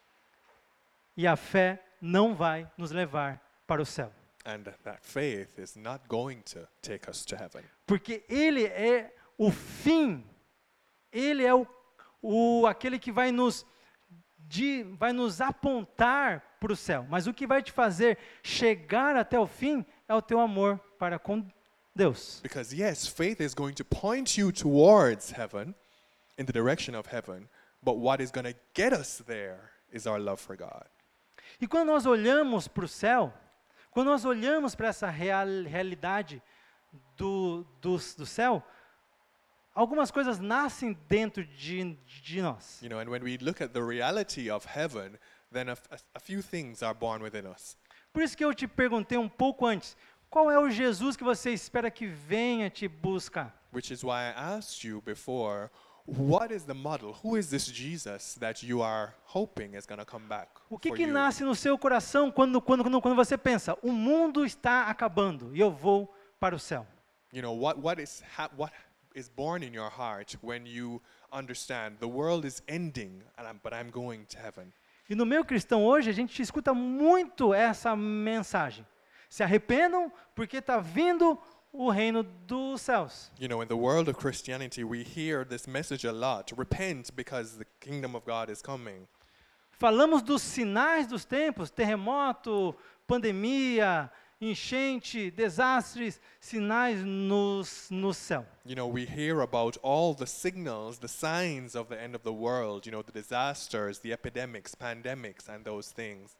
E a fé não vai nos levar para o céu. And that faith is not going to take us to heaven. Porque Ele é o fim, Ele é o, o, aquele que vai nos, de, vai nos apontar para o céu. Mas o que vai te fazer chegar até o fim é o teu amor para com Deus. Because yes, faith is going to point you towards heaven, in the direction of heaven, but what is going to get us there is our love for God. E quando nós olhamos para o céu, quando nós olhamos para essa real, realidade do, do, do céu, algumas coisas nascem dentro de, de nós. You know, and when we look at the reality of heaven, then a, f- a- a few things are born within us. Por isso que eu te perguntei um pouco antes, qual é o Jesus que você espera que venha te buscar? Which is why I asked you before, what is the model? Who is this Jesus that you are hoping is going to come back O que for que you? nasce no seu coração quando, quando, quando, quando você pensa, o mundo está acabando e eu vou para o céu? You know, what, what, is ha- what is born in your heart when you understand the world is ending, and I'm, but I'm going to heaven? E no meio cristão hoje, a gente escuta muito essa mensagem. Se arrependam, porque está vindo o reino dos céus. You know, in the world of Christianity, we hear this message a lot. Repent because the kingdom of God is coming. Falamos dos sinais dos tempos, terremoto, pandemia, enchente, desastres, sinais nos, no céu. You know, we hear about all the signals, the signs of the end of the world, you know, the disasters, the epidemics, pandemics, and those things.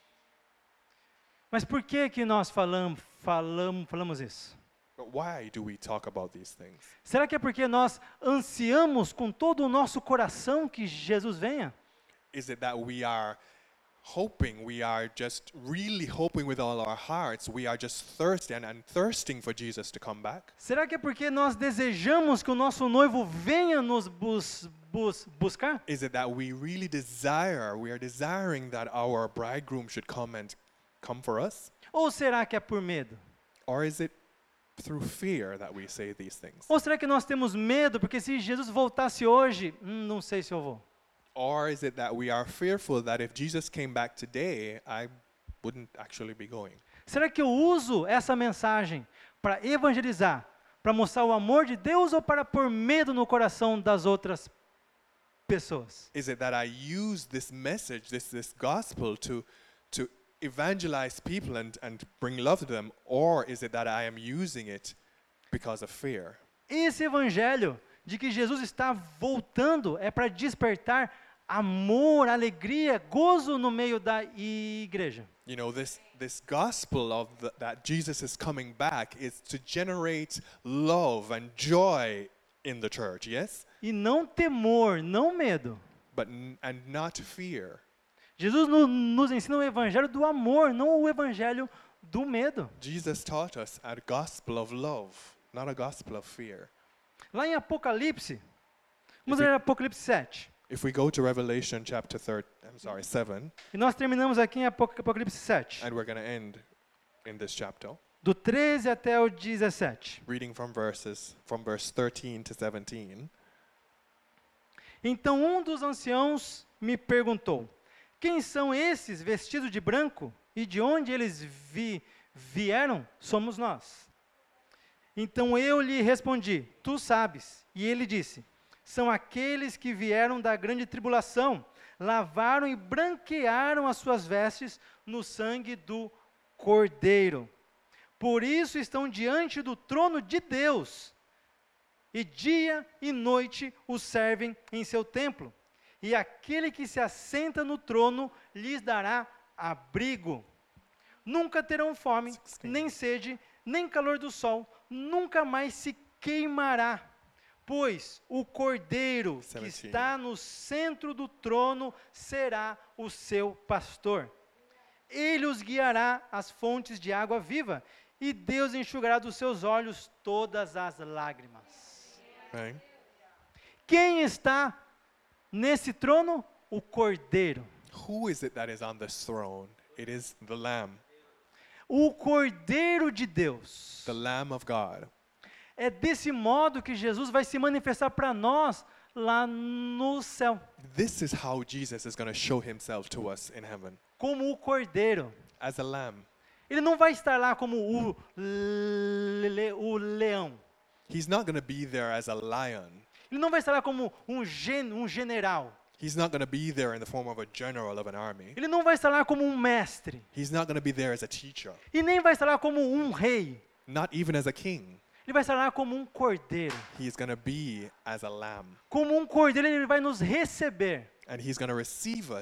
Mas por que que nós falamos, falamos, falamos isso? But why do we talk about these things? Será que é porque nós ansiamos com todo o nosso coração que Jesus venha? Is it that we are hoping, we are just really hoping with all our hearts, we are just thirsty and, and thirsting for Jesus to come back? Será que é porque nós desejamos que o nosso noivo venha nos bus, bus, buscar? Is it that we really desire, we are desiring that our bridegroom should come and come for us? Ou será que é por medo? Or is it through fear that we say these things? Ou será que nós temos medo porque se Jesus voltasse hoje, hum, não sei se eu vou? Or is it that we are fearful that if Jesus came back today, I wouldn't actually be going? Será que eu uso essa mensagem para evangelizar, para mostrar o amor de Deus ou para pôr medo no coração das outras pessoas? Is it that I use this message, this, this gospel to, to evangelize people and, and bring love to them? Or is it that I am using it because of fear? Esse evangelho de que Jesus está voltando é para despertar amor, alegria, gozo no meio da igreja. You know, this, this gospel of the, that Jesus is coming back is to generate love and joy in the church, yes? E não temor, não medo. But n- and not fear. Jesus no, nos ensina o evangelho do amor, não o evangelho do medo. Jesus taught us a gospel of love, not a gospel of fear. Lá em Apocalipse, vamos If ler we- Apocalipse sete. If we go to Revelation chapter third, I'm sorry, seven, E nós terminamos aqui em Apoc- Apocalipse sete, and we're going to end in this chapter, do treze até o dezessete. reading from verses from verse thirteen to seventeen. Então um dos anciãos me perguntou: quem são esses vestidos de branco e de onde eles vi- vieram? Somos nós. Então eu lhe respondi: tu sabes. E ele disse: são aqueles que vieram da grande tribulação, lavaram e branquearam as suas vestes no sangue do Cordeiro. Por isso estão diante do trono de Deus, e dia e noite o servem em seu templo. E aquele que se assenta no trono lhes dará abrigo. Nunca terão fome, nem sede, nem calor do sol, nunca mais se queimará. Pois o Cordeiro que Seventeen. está no centro do trono será o seu pastor. Ele os guiará às fontes de água viva, e Deus enxugará dos seus olhos todas as lágrimas. Right? Quem está nesse trono? O Cordeiro. Who is it that is on this throne? It is the Lamb, O Cordeiro de Deus. the Lamb of God. É desse modo que Jesus vai se manifestar para nós lá no céu, This is how Jesus is going to show himself to us in heaven, como o Cordeiro. as a lamb. Ele não vai estar lá como o, le- o leão. He's not going to be there as a lion. Ele não vai estar lá como um, gen, um general. He's not going to be there in the form of a general of an army. Ele não vai estar lá como um mestre. He's not going to be there as a teacher, E nem vai estar lá como um rei. not even as a king. Ele vai estar lá como um cordeiro. He's going to be as a lamb, Como um cordeiro, ele vai nos receber. and he's going to receive us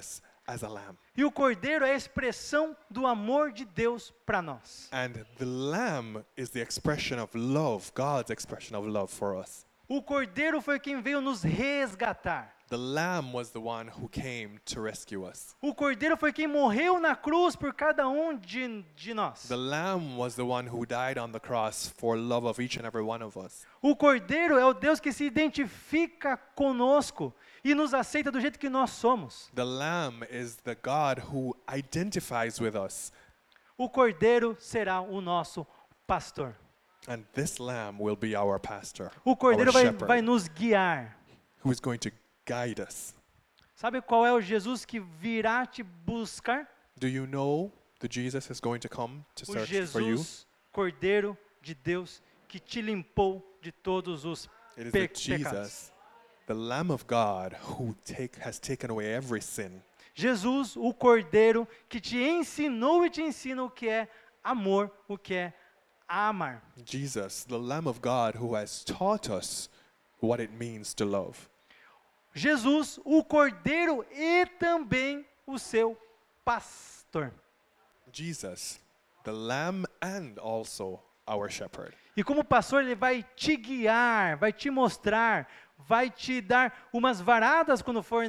as a lamb. E o cordeiro é a expressão do amor de Deus para nós. And the lamb is the expression of love, God's expression of love for us. O cordeiro foi quem veio nos resgatar. The lamb was the one who came to rescue us. O cordeiro foi quem morreu na cruz por cada um de, de nós. The lamb was the one who died on the cross for love of each and every one of us. O cordeiro é o Deus que se identifica conosco e nos aceita do jeito que nós somos. The lamb is the God who identifies with us. O cordeiro será o nosso pastor. And this lamb will be our pastor, O cordeiro our vai, shepherd, vai nos guiar. who is going to guide us. Sabe qual é o Jesus que virá te buscar? Do you know the Jesus is going to come to O search for you? Jesus, Cordeiro de Deus, que te limpou de todos os It is pe- the pecados. Jesus, the Lamb of God, who take, has taken away every sin. Jesus, o Cordeiro, que te ensinou e te ensina o que é amor, o que é amar. Jesus, the Lamb of God, who has taught us what it means to love. Jesus, o Cordeiro e também o seu pastor. Jesus, the Lamb and also our shepherd. E como pastor, ele vai te guiar, vai te mostrar, vai te dar umas varadas quando for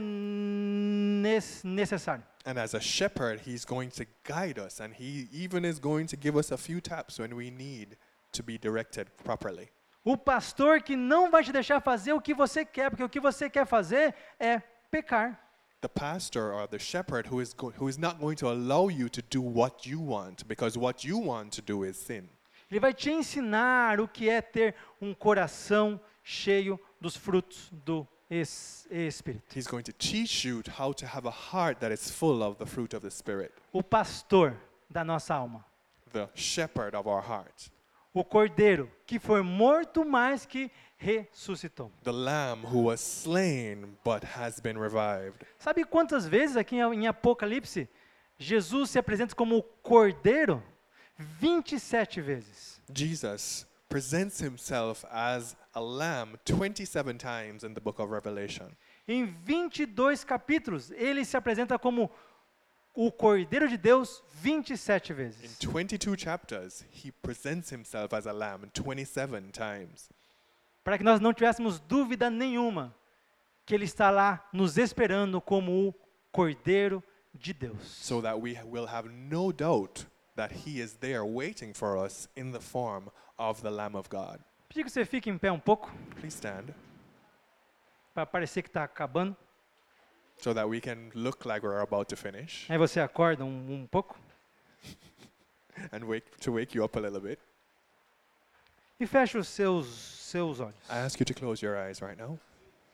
nes- necessário. And as a shepherd, he's going to guide us, and he even is going to give us a few taps when we need to be directed properly. O pastor que não vai te deixar fazer o que você quer, porque o que você quer fazer é pecar. The pastor or the shepherd who is, go- who is not going to allow you to do what you want, because what you want to do is sin. Ele vai te ensinar o que é ter um coração cheio dos frutos do es- Espírito. He's going to teach you how to have a heart that is full of the fruit of the Spirit, O pastor da nossa alma. the shepherd of our heart, O cordeiro que foi morto, mas que ressuscitou. the lamb who was slain but has been revived. Sabe quantas vezes aqui em em Apocalipse Jesus se apresenta como o cordeiro? vinte e sete vezes. Jesus presents himself as a lamb twenty-seven times in the book of Revelation. Em vinte e dois capítulos, ele se apresenta como o Cordeiro de Deus vinte e sete In vezes. twenty-two chapters, he presents himself as a lamb twenty-seven times, Para que nós não tivéssemos dúvida nenhuma que ele está lá nos esperando como o Cordeiro de Deus. so that we will have no doubt that he is there waiting for us in the form of the Lamb of God. Pedir que você fique em pé um pouco, Please stand, para parecer que está acabando. so that we can look like we're about to finish, Aí você acorda um, um pouco and wake, to wake you up a little bit. e fecha os seus, seus olhos. I ask you to close your eyes right now.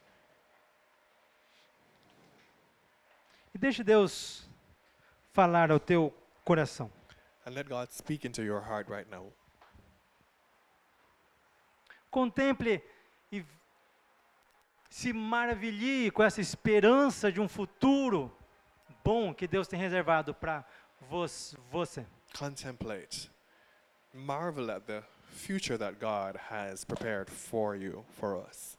E deixe Deus falar ao teu coração. And let God speak into your heart right now. Contemple e se maravilhe com essa esperança de um futuro bom que Deus tem reservado para você. Contemplate. Marvel at the future that God has prepared for you, for us.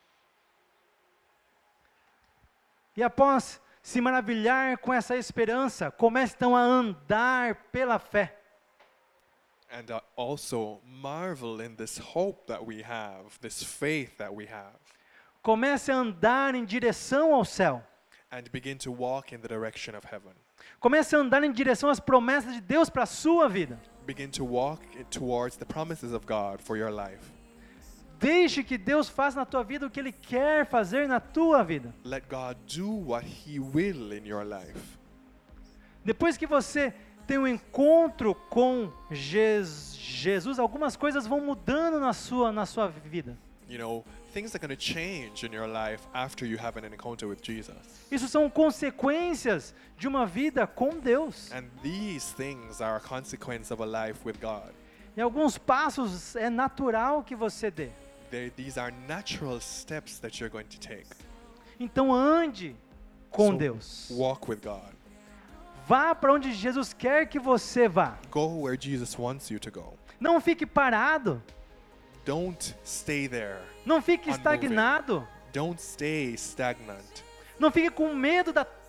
E após se maravilhar com essa esperança, comece então a andar pela fé. And uh, also marvel in this hope that we have, this faith that we have, Comece a andar em direção ao céu. and begin to walk in the direction of heaven. Comece a andar em direção às promessas de Deus para a sua vida. Begin to walk in- towards the promises of God for your life. Deixe que Deus faça na tua vida o que Ele quer fazer na tua vida. Let God do what He will in your life. Depois que você tem um encontro com Jes- Jesus, algumas coisas vão mudando na sua, na sua vida. You know, things are going to change in your life after you have an encounter with Jesus. Isso são consequências de uma vida com Deus. And these things are a consequence of a life with God. E alguns passos é natural que você dê. They, these are natural steps that you're going to take. Então ande com So, Deus. Walk with God. Vá para onde Jesus quer que você vá. Go where Jesus wants you to go. Não fique parado. Don't stay there. Não fique Unmoving. estagnado. Don't stay stagnant. Não fique com medo da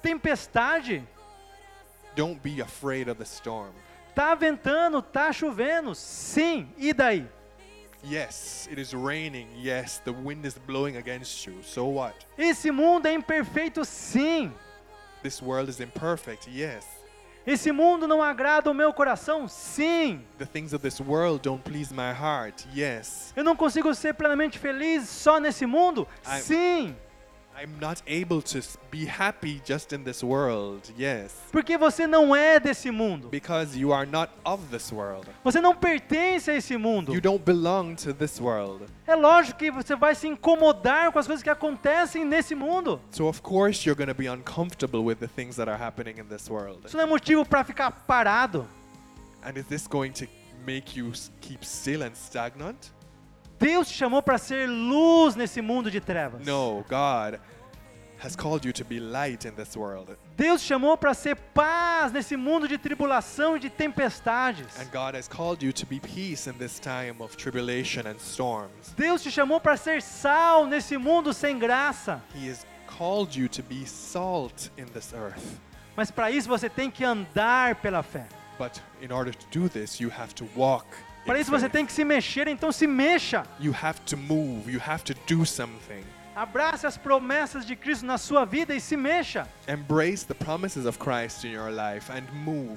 tempestade. Don't be afraid of the storm. Tá ventando, tá chovendo. Sim, e daí? Yes, it is raining. Yes, the wind is blowing against you. So what? Esse mundo é imperfeito, sim. This world is imperfect. Yes. Esse mundo não agrada o meu coração, sim. The things of this world don't please my heart. Yes. Eu não consigo ser plenamente feliz só nesse mundo, I'm- sim. I'm not able to s- be happy just in this world. Yes. Porque você não é desse mundo. Because you are not of this world. Você não pertence a esse mundo. You don't belong to this world. É lógico que você vai se incomodar com as coisas que acontecem nesse mundo. So of course you're going to be uncomfortable with the things that are happening in this world. Isso não é motivo para ficar parado. And is this going to make you s- keep still and stagnant? Deus te chamou para ser luz nesse mundo de trevas. No, God has called you to be light in this world. Deus te chamou para ser paz nesse mundo de tribulação e de tempestades. And God has called you to be peace in this time of tribulation and storms. Deus te chamou para ser sal nesse mundo sem graça. He has called you to be salt in this earth. Mas para isso você tem que andar pela fé. But in order to do this, you have to walk. in Para isso você faith. tem que se mexer, então se mexa. You have to move. You have to do something. Abrace as promessas de Cristo na sua vida e se mexa. Embrace the promises of Christ in your life and move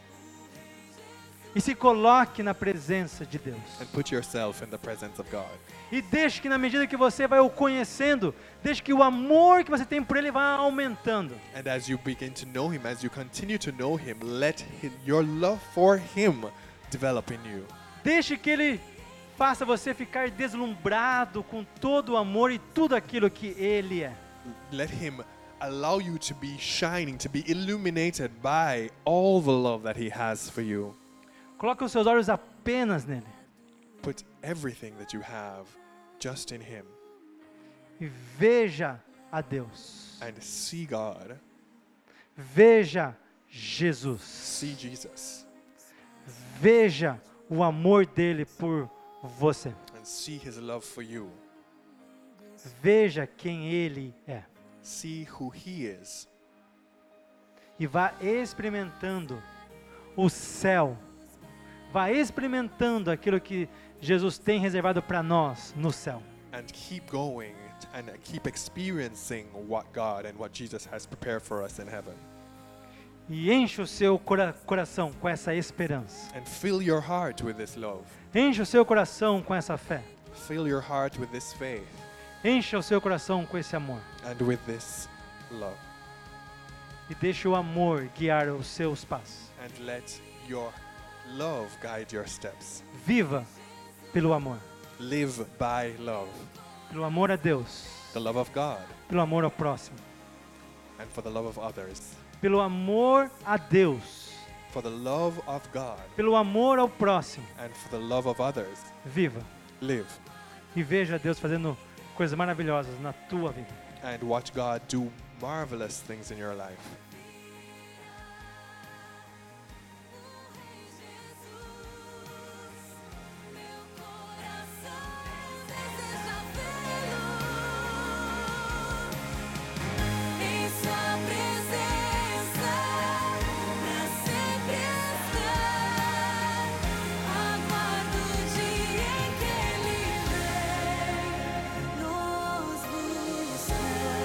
E se coloque na presença de Deus. and put yourself in the presence of God. E deixe que na medida que você vai o conhecendo, deixe que o amor que você tem por Ele vá aumentando. And as you begin to know Him, as you continue to know Him, let him, your love for Him develop in you. Deixe que Ele faça você ficar deslumbrado com todo o amor e tudo aquilo que Ele é. Let Him allow you to be shining, to be illuminated by all the love that He has for you. Coloque os seus olhos apenas nele. Put everything that you have just in Him E veja a Deus. and see God, Veja Jesus. see Jesus, Veja o amor dele por você. and see His love for you. Veja quem Ele é. See who He is. E vá experimentando o céu. Vá experimentando aquilo que Jesus tem reservado para nós no céu. And keep going and keep experiencing what God and what Jesus has prepared for us in heaven. E enche o seu cora- coração com essa esperança. And fill your heart with this love. Enche o seu coração com essa fé. Fill your heart with this faith Enche o seu coração com esse amor. and with this love. E deixe o amor guiar os seus passos. And let your love guide your steps. Viva pelo amor. Live by love. Pelo amor a Deus. The love of God Pelo amor ao próximo. and for the love of others. Pelo amor a Deus. For the love of God Pelo amor ao próximo. and for the love of others. Viva. Live E veja Deus fazendo coisas maravilhosas na tua vida. and watch God do marvelous things in your life. Em sua presença, pra sempre estar. Aguardo o dia em que Ele vem nos buscar.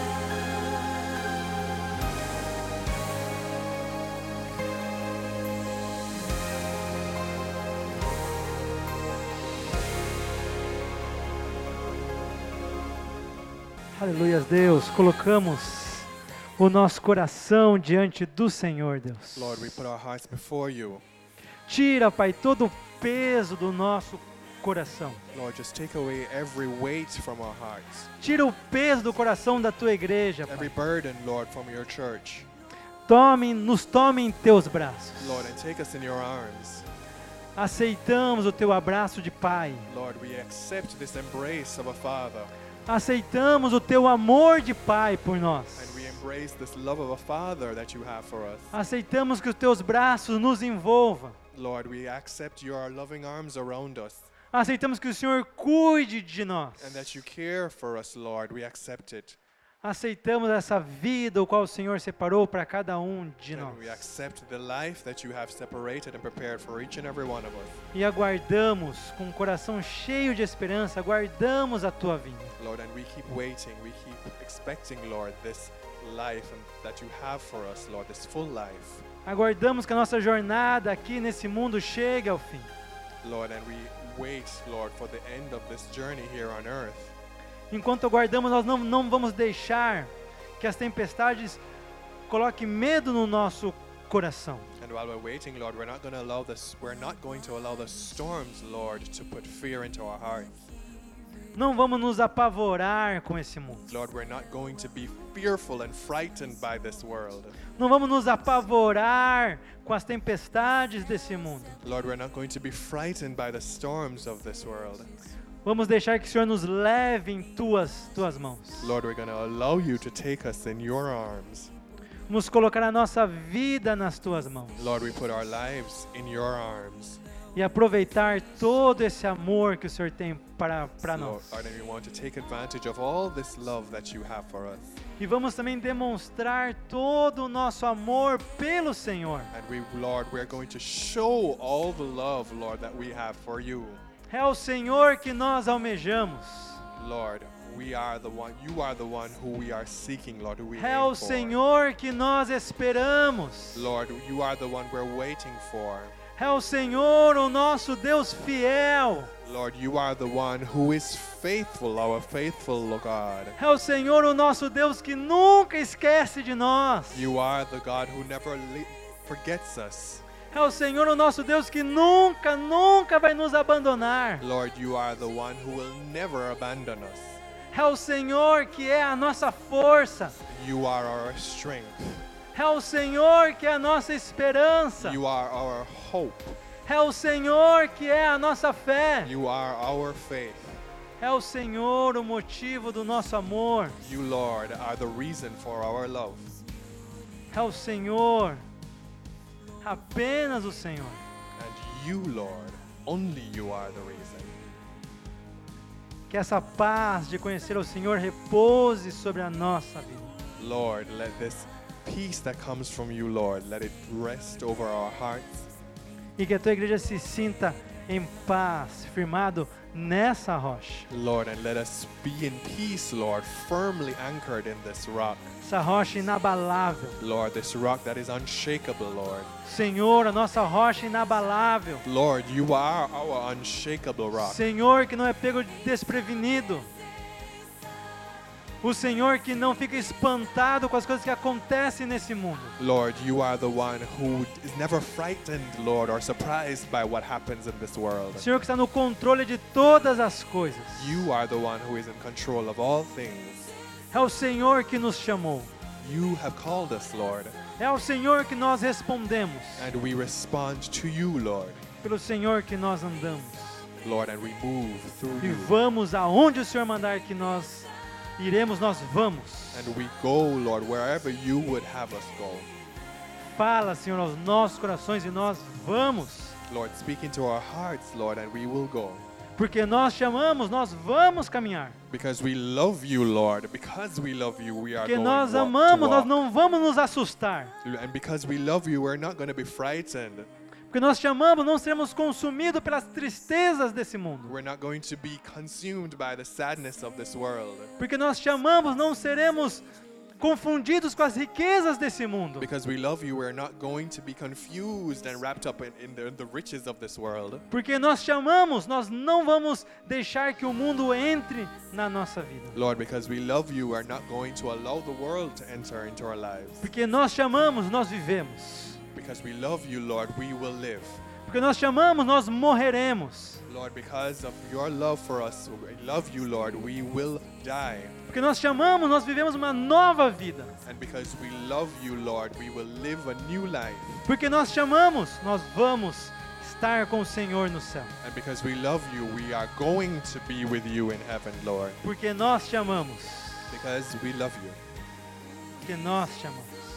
Aleluia, Deus. Colocamos o nosso coração diante do Senhor, Deus. Lord, we put our hearts before you. Tira, Pai, todo o peso do nosso coração. Lord, just take away every weight from our hearts, Tira o peso do coração da tua igreja, every Pai. burden, Lord, from your church. Tome, nos tome em teus braços. Lord, and take us in your arms. Aceitamos o teu abraço de Pai. Lord, we accept this embrace of a Father, Aceitamos o teu amor de Pai por nós. and we embrace this love of a Father that you have for us. Aceitamos que os teus braços nos envolvam. Lord, we accept your loving arms around us, Aceitamos que o Senhor cuide de nós. and that you care for us, Lord. We accept it. aceitamos essa vida o qual o Senhor separou para cada um de And nós. we accept the life that you have separated and prepared for each and every one of us. E aguardamos com um coração cheio de esperança, aguardamos a tua vinda. Lord, and we keep waiting, we keep expecting, Lord, this life and that you have for us, Lord, this full life. Aguardamos que a nossa jornada aqui nesse mundo chegue ao fim. Lord, and we wait, Lord, for the end of this journey here on earth. Enquanto aguardamos, nós não, não vamos deixar que as tempestades coloquem medo no nosso coração. And while we're waiting, Lord, we're not going to allow this, we're not going to allow the storms, Lord, to put fear into our hearts. Não vamos nos apavorar com esse mundo. Lord, we're not going to be fearful and frightened by this world. Não vamos nos apavorar com as tempestades desse mundo. Lord, we're not going to be frightened by the storms of this world. Vamos deixar que o Senhor nos leve em tuas, tuas mãos. Lord, we're going to allow you to take us in your arms. Vamos colocar a nossa vida nas tuas mãos. Lord, we put our lives in your arms. E aproveitar todo esse amor que o Senhor tem para, para Lord, nós. Lord, and we want to take advantage of all this love that you have for us. E vamos também demonstrar todo o nosso amor pelo Senhor. And we, Lord, we are going to show all the love, Lord, that we have for you. É o Senhor que nós almejamos. Lord, we are the one, you are the one who we are seeking, Lord, who we É aim o for. Senhor que nós esperamos. Lord, you are the one we're waiting for. É o Senhor, o nosso Deus fiel. Lord, you are the one who is faithful, our faithful God. É o Senhor, o nosso Deus que nunca esquece de nós. You are the God who never le- forgets us. É o Senhor, o nosso Deus que nunca, nunca vai nos abandonar. Lord, you are the one who will never abandon us. É o Senhor que é a nossa força. You are our strength. É o Senhor que é a nossa esperança. You are our hope. É o Senhor que é a nossa fé. You are our faith. É o Senhor o motivo do nosso amor. You, Lord, are the reason for our love. É o Senhor, apenas o Senhor. And you, Lord, only you are the reason. Que essa paz de conhecer o Senhor repouse sobre a nossa vida. Lord, let this peace that comes from you, Lord, let it rest over our hearts. E que a tua igreja se sinta em paz, firmado nessa rocha. Lord, and let us be in peace, Lord, firmly anchored in this rock. Essa rocha inabalável. Lord, this rock that is unshakable, Lord. Senhor, a nossa rocha inabalável. Lord, you are our unshakable rock. Senhor, que não é pego desprevenido. O Senhor que não fica espantado com as coisas que acontecem nesse mundo. Lord, you are the one who is never frightened, Lord, or surprised by what happens in this world. O Senhor que está no controle de todas as coisas. You are the one who is in control of all things. É o Senhor que nos chamou. You have called us, Lord, É o Senhor que nós respondemos. and we respond to you, Lord. Pelo Senhor que nós andamos. Lord, and we move through E you. vamos aonde o Senhor mandar que nós iremos, nós vamos. And we go, Lord, wherever you would have us go. Fala, Senhor, aos nossos corações e nós vamos. Lord, speak into our hearts, Lord, and we will go. Porque nós chamamos, nós vamos caminhar. Because we love you, Lord. Because we love you, we are Porque going nós walk to amamos, nós walk. não vamos nos assustar. And because we love you, we're not going to be frightened. Porque nós chamamos, não seremos consumidos pelas tristezas desse mundo. We're not going to be consumed by the sadness of this world. Porque nós chamamos, não seremos confundidos com as riquezas desse mundo. Because we love you, we're not going to be confused and wrapped up in, in the, the riches of this world. Porque nós chamamos, nós não vamos deixar que o mundo entre na nossa vida. Lord, because we love you, we're not going to allow the world to enter into our lives. Porque nós chamamos, nós vivemos. Because we love you, Lord, we will live. Porque nós chamamos, nós morreremos. Lord, because of your love for us, we love you, Lord, we will die. Porque nós chamamos, nós vivemos uma nova vida. And because we love you, Lord, we will live a new life. Porque nós chamamos, nós vamos estar com o Senhor no céu. And because we love you, we are going to be with you in heaven, Lord. Porque nós chamamos. Because we love you. Porque nós chamamos.